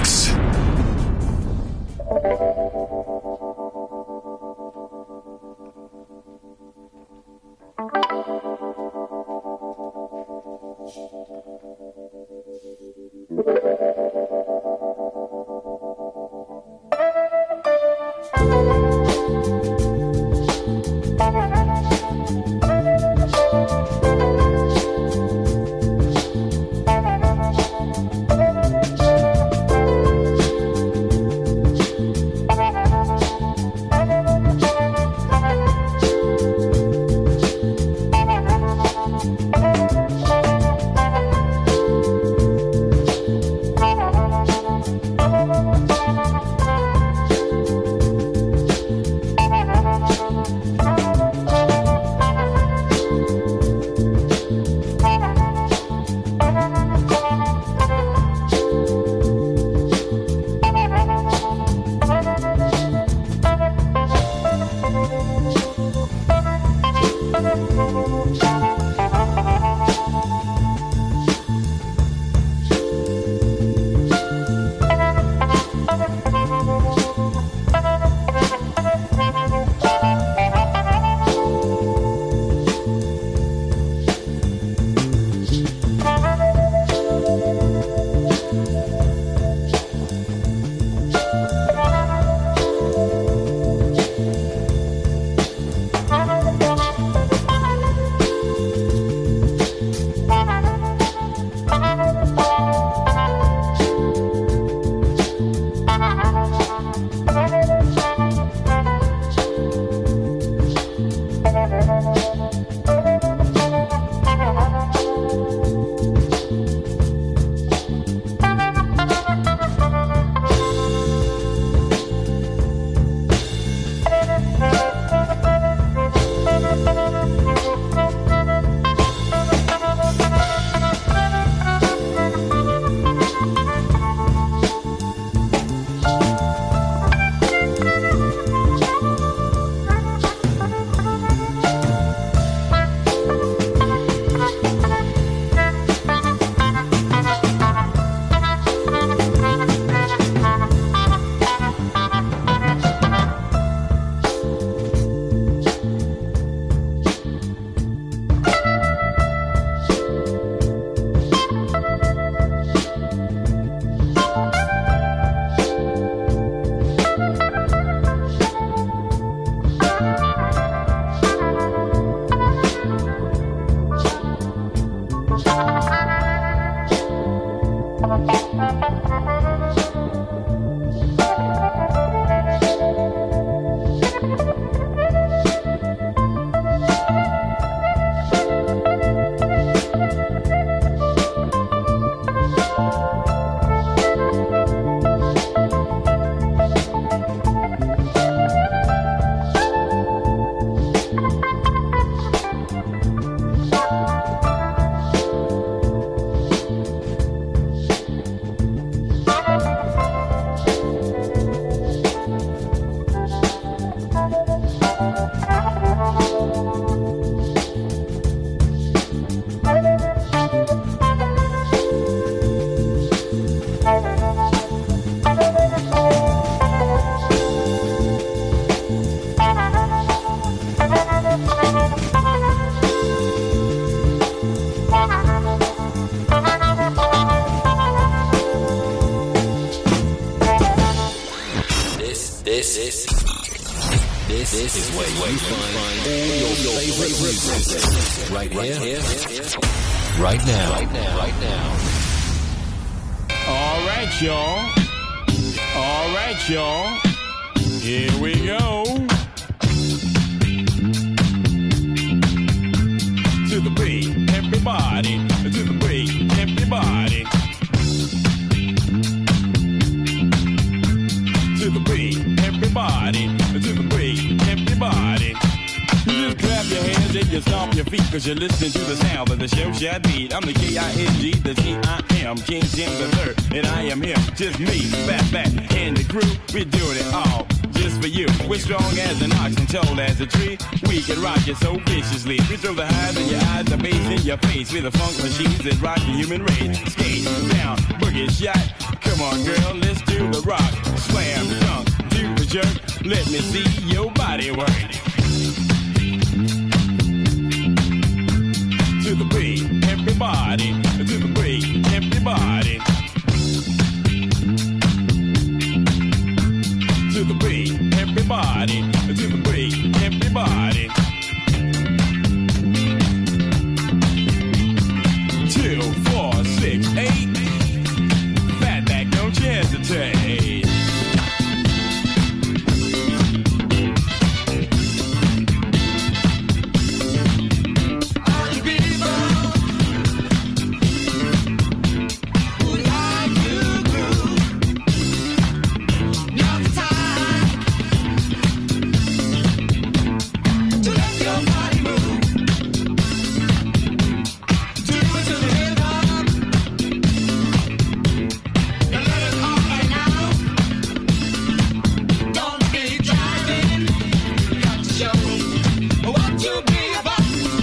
mix. This is where you find all your favorite music. Right here. Right now. All right, y'all. Here we go. To the beat, everybody. To the beat, everybody. To the beat, everybody. To the beat, everybody. You just clap your hands and you stomp your feet, cause you're listening to the sound of the show Shad Beat. I'm the K-I-N-G, the T-I-M, King Jim the Third, and I am him, just me, back, and the crew, we're doing it all, just for you. We're strong as an ox and tall as a tree, we can rock it so viciously. We throw the highs in your eyes, the bass in your face, we're the funk machines that rock the human race. Skate down, boogie shot, come Come on, girl, let's do the rock. Slam, dunk, do the jerk. Let me see your body work. To the beat, everybody. To the beat, everybody. To the beat, everybody. To the beat, everybody. 2, 4, 6, 8. Fatback, don't you hesitate. All you people who like to groove, now's the time to let your body move. Do it to the rhythm and let it all hang out. Don't be driving, you got to show what you be about.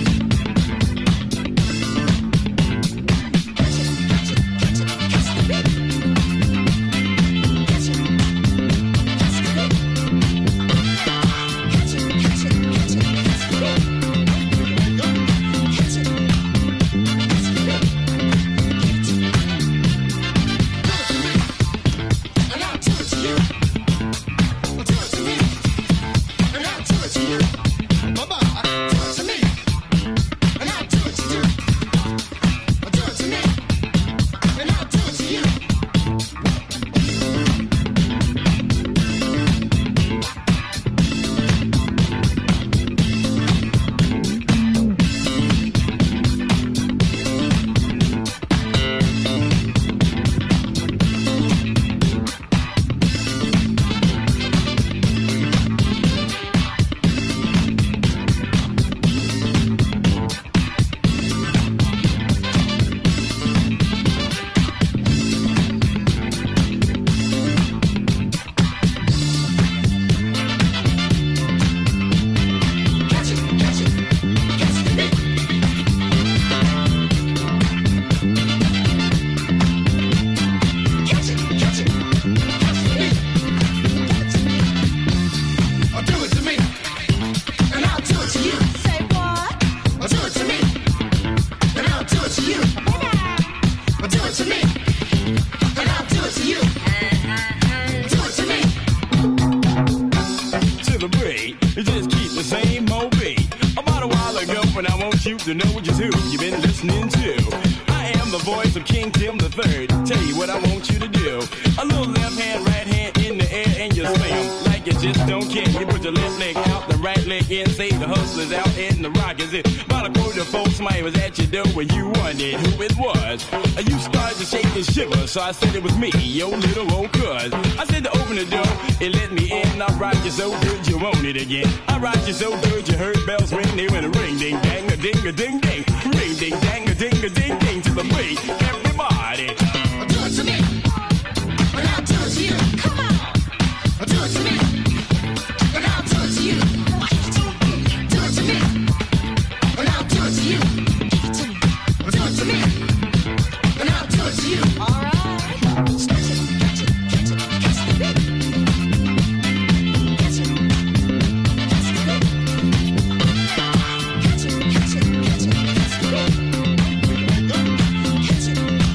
And I'll do it to you. Do it to me. And I'll do it to you. Bye-bye. Do it to me. And I'll do it to you. Do it to me. And I'll do it to you. Catch it, catch it, catch the beat. Catch it, catch it, catch the beat. Do it to me, and I'll do it to you. Say what? Do it to me, and I'll do it to you. Do it to me, and I'll do it to you. Do it to me. To the break, just keep the same old beat. About a while ago, when I want you to know just who you've been listening to. I am the voice of King Tim the Third. Tell you what I want you to do. A little left hand, right hand in the air, and you slam like you just don't care. You put your left leg out, the right leg in. Say the hustlers out and the rockers in. About a quarter folks, somebody was at your door when you wondered who it was. You started to shake and shiver, so I said it was me, your little old cuz. I said to open the door, it let me in. I rocked you so good you want it again. I rocked you so good you heard bells ring. They went a ring, ding, dang, a ding, a ding, ding. Ring, ding, dang, a ding, a ding, ding. To the beat, everybody. Do it to me, and I'll do it to you. Come on. Do it to me, and I'll do it to you. Do it to me, and I'll do it to you. Do it to me, and I'll do it to you. All right. Catch it, catch it, catch it, catch the beat. Catch it, catch the beat. Catch it, catch it, catch it, catch the beat. Catch it, catch the beat.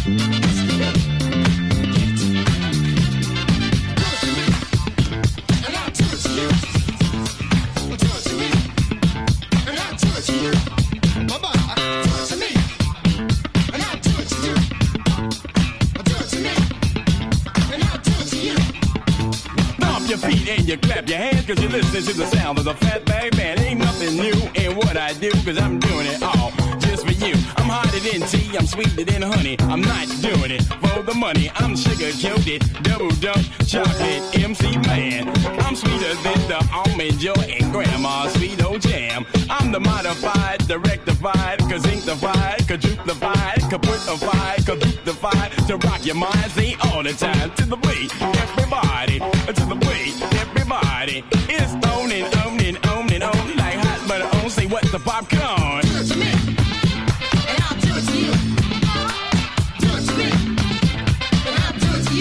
And I'll do it to you. Do it to me, and I'll do it to you. Bye-bye. Do it to me, and I'll do it to you. Do it to me, and I'll do it to you. Stomp your feet and you clap your hands, cause you're listening to the sound of the Fatback Band. Ain't nothing new in what I do, cause I'm doing it all just for you. I'm hotter than tea, I'm sweeter than honey. I'm not doing it for the money. I'm sugar-coated, double-dunk, chocolate MC man. I'm sweeter than the almond joy and grandma's sweet old jam. I'm the modified, the rectified, kazinctified, quadruplified, kaputified, kaboot-defied, to rock your mind, say all the time. To the beat, everybody, to the beat, everybody. It's on and on and on and on, like hot butter on, say what's the popcorn? Do it to me, and I'll do it to you. Do it to me, and I'll do it to you.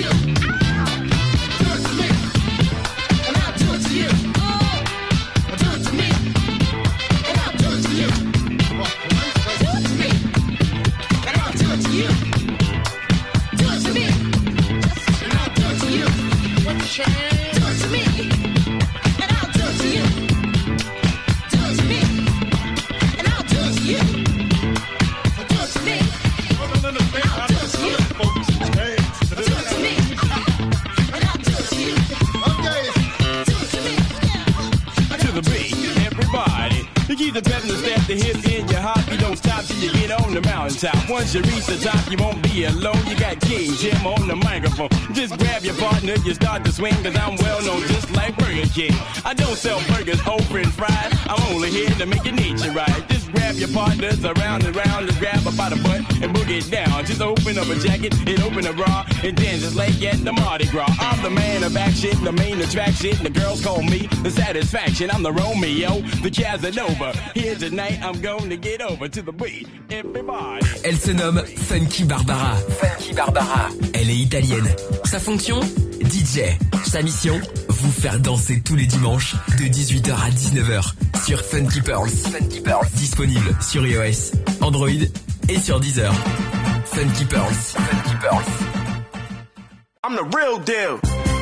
the mountaintop. Once you reach the top, you won't be alone. You got King Jim on the microphone. Just grab your partner, you start to swing, cause I'm well known just like Burger King. I don't sell burgers, open fried. I'm only here to make your nature right. Just grab your partners around and round, just grab her by the butt and boogie it down. Just open up a jacket and open a bra and then just like at the Mardi Gras. I'm the man of action, the main attraction. The girls call me the satisfaction. I'm the Romeo, the Casanova. Here tonight, I'm going to get over to the beat. Everybody. Elle se nomme Funky Barbara. Funky Barbara. Elle est italienne. Sa fonction? DJ. Sa mission? Vous faire danser tous les dimanches de 18h à 19h sur Funky Pearls. Funky Pearls. Disponible sur iOS, Android et sur Deezer. Funky Pearls. Funky Pearls. I'm the real deal.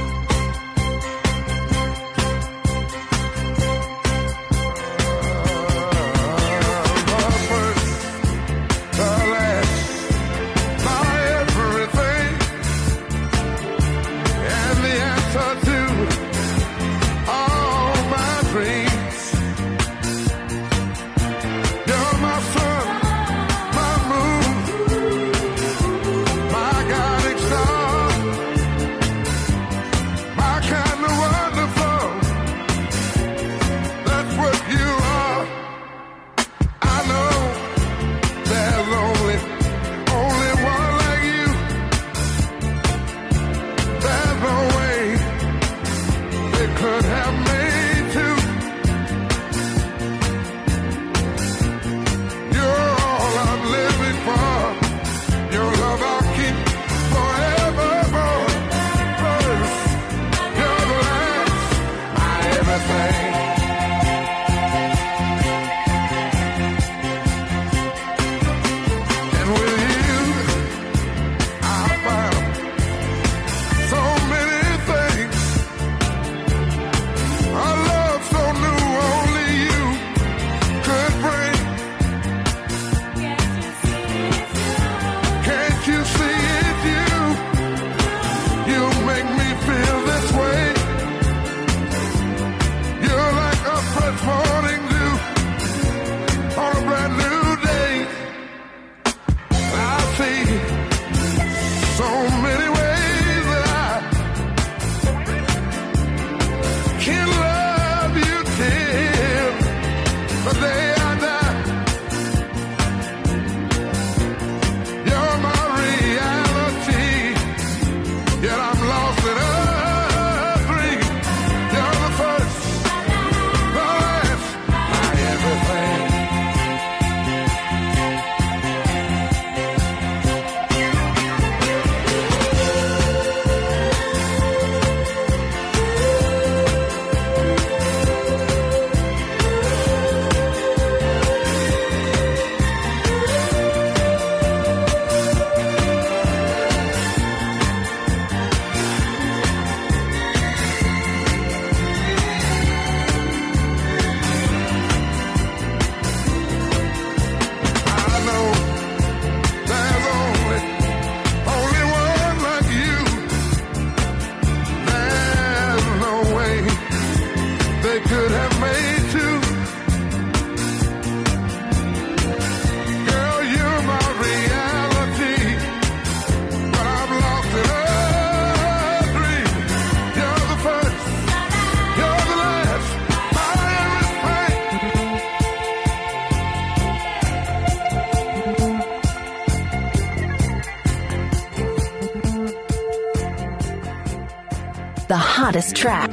The hottest track.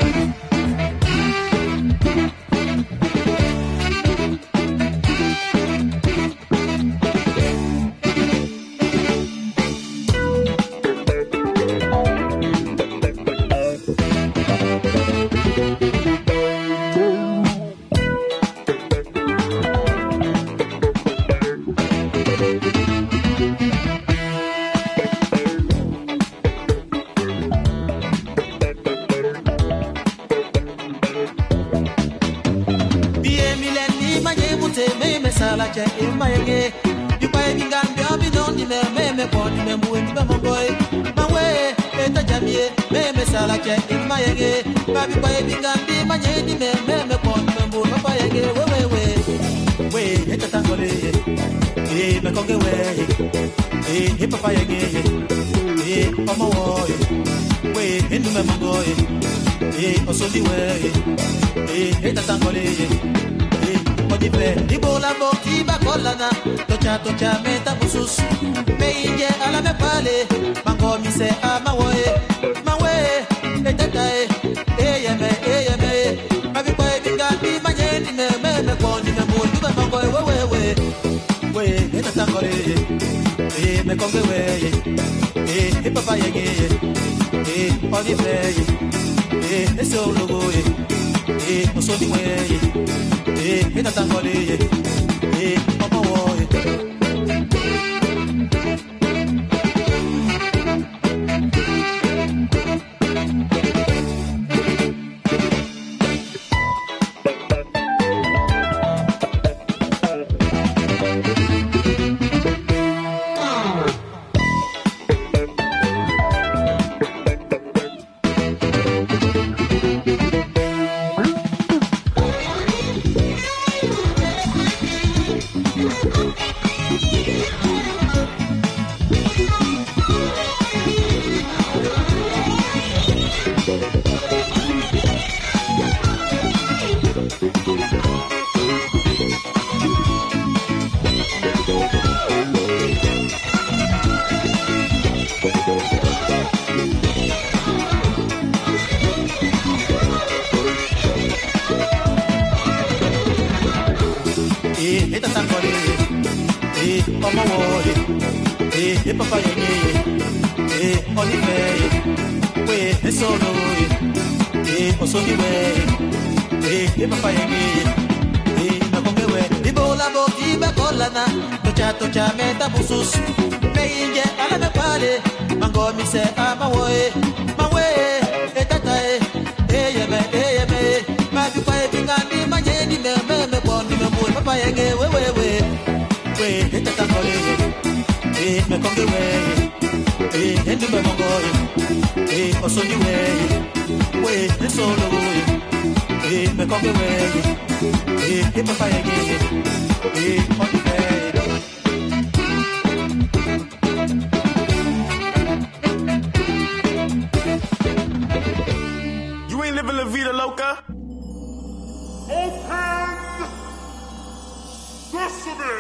me conge we hip hop ye omo wo we enu me mongo osodi we tatangole odipe ibola bokti bakolana tocha meta busus meije ala me pale mango mi se amawe mawe etatae eyeme mabi boy bigandi manyeni me kondi me mo du mango we tatangole me konge we hip hop ye odipe eso logo osodi we tatangole omo wo tocha meta busus meije ala me pale mango mi se amawe mawe etatae eyeme ma bi pa bingandi manyeni me bondi me mo papa yenge we etatangole me konge we endi me mongo osoni we solo me konge we papa yenge La vida loca. Open Sesame.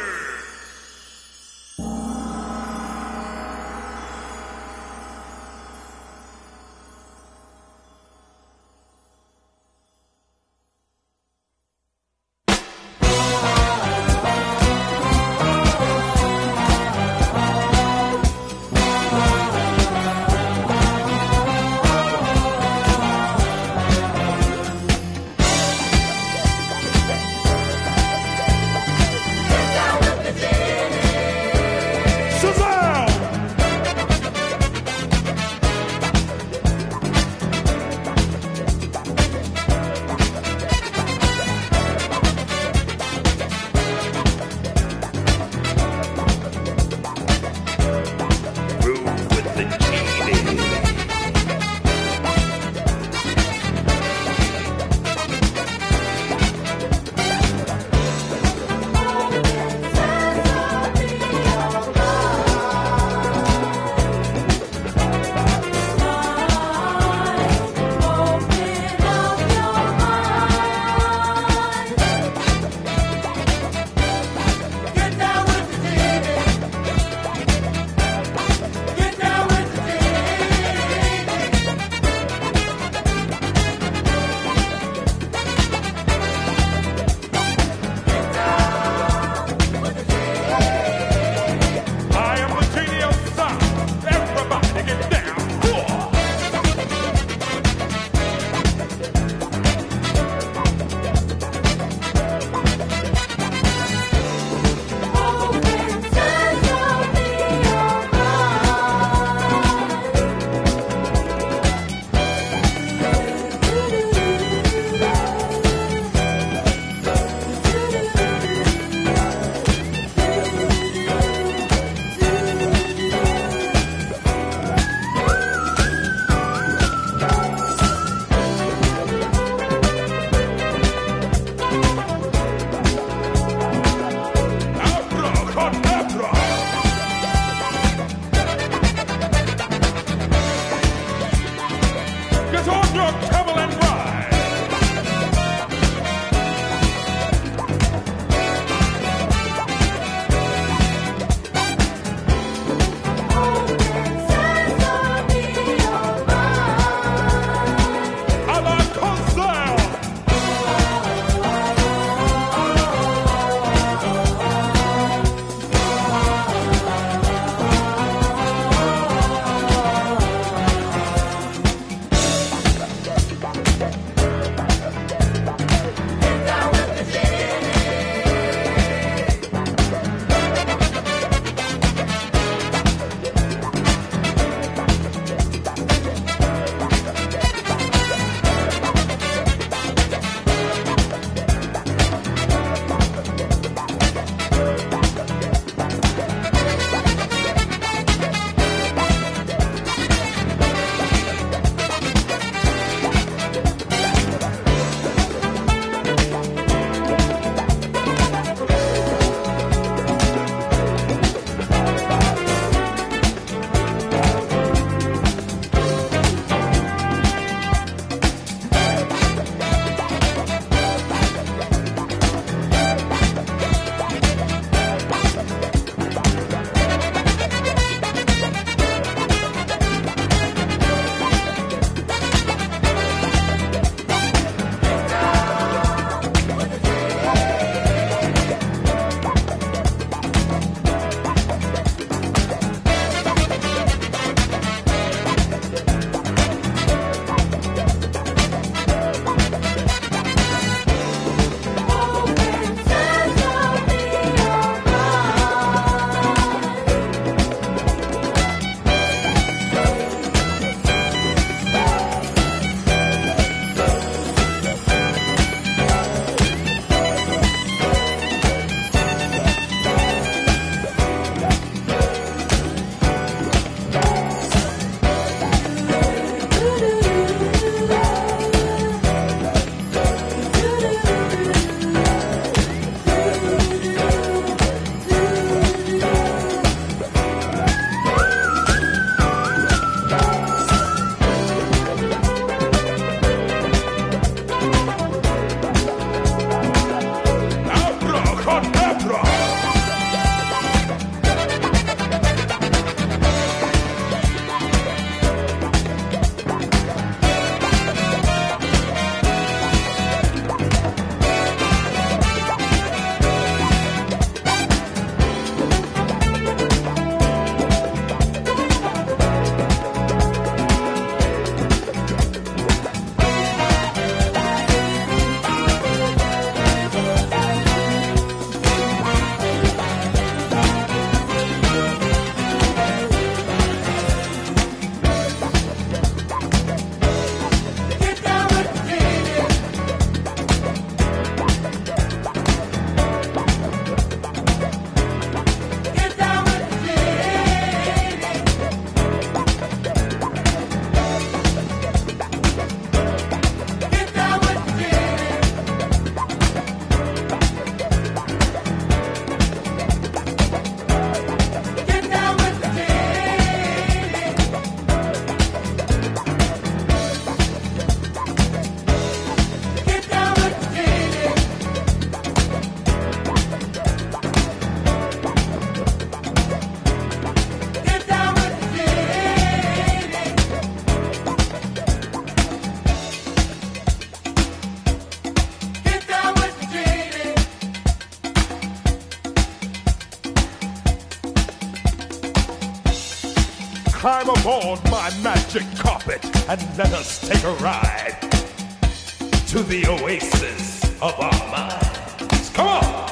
climb aboard my magic carpet and let us take a ride to the oasis of our minds. Come on!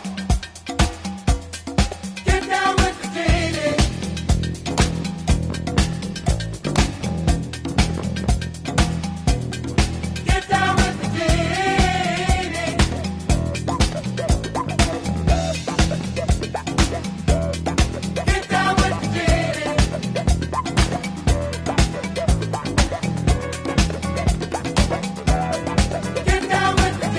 Get down with the genie. Get down with the genie. Get down with the genie. Get down with the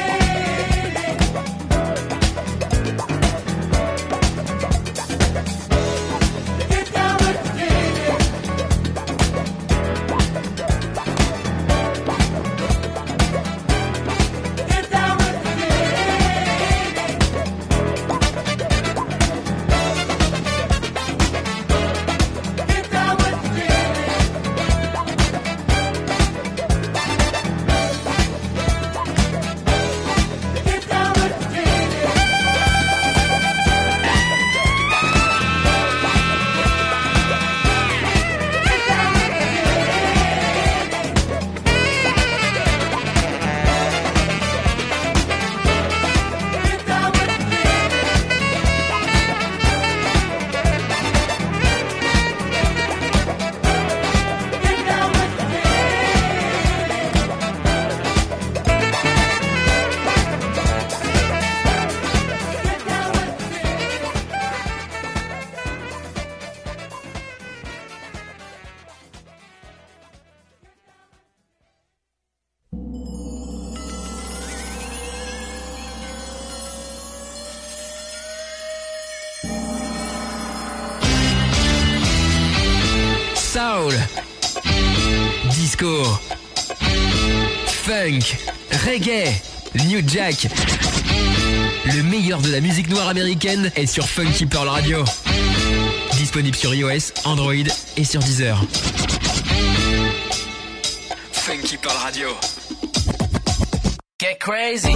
Soul, disco, funk, reggae, new jack. Le meilleur de la musique noire américaine est sur Funky Pearl Radio. Disponible sur iOS, Android et sur Deezer. Funky Pearl Radio. Get crazy.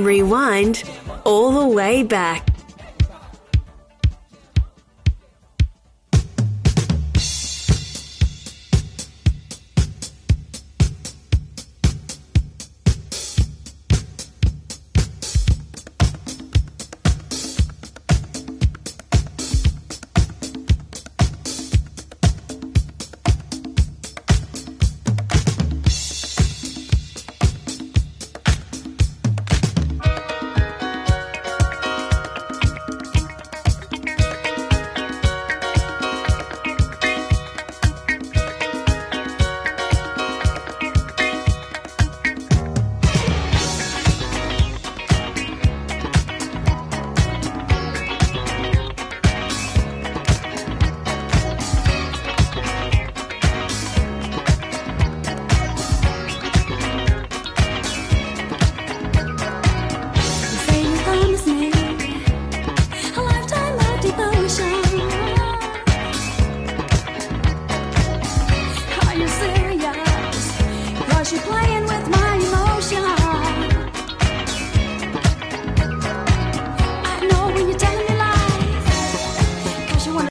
Rewind all the way back.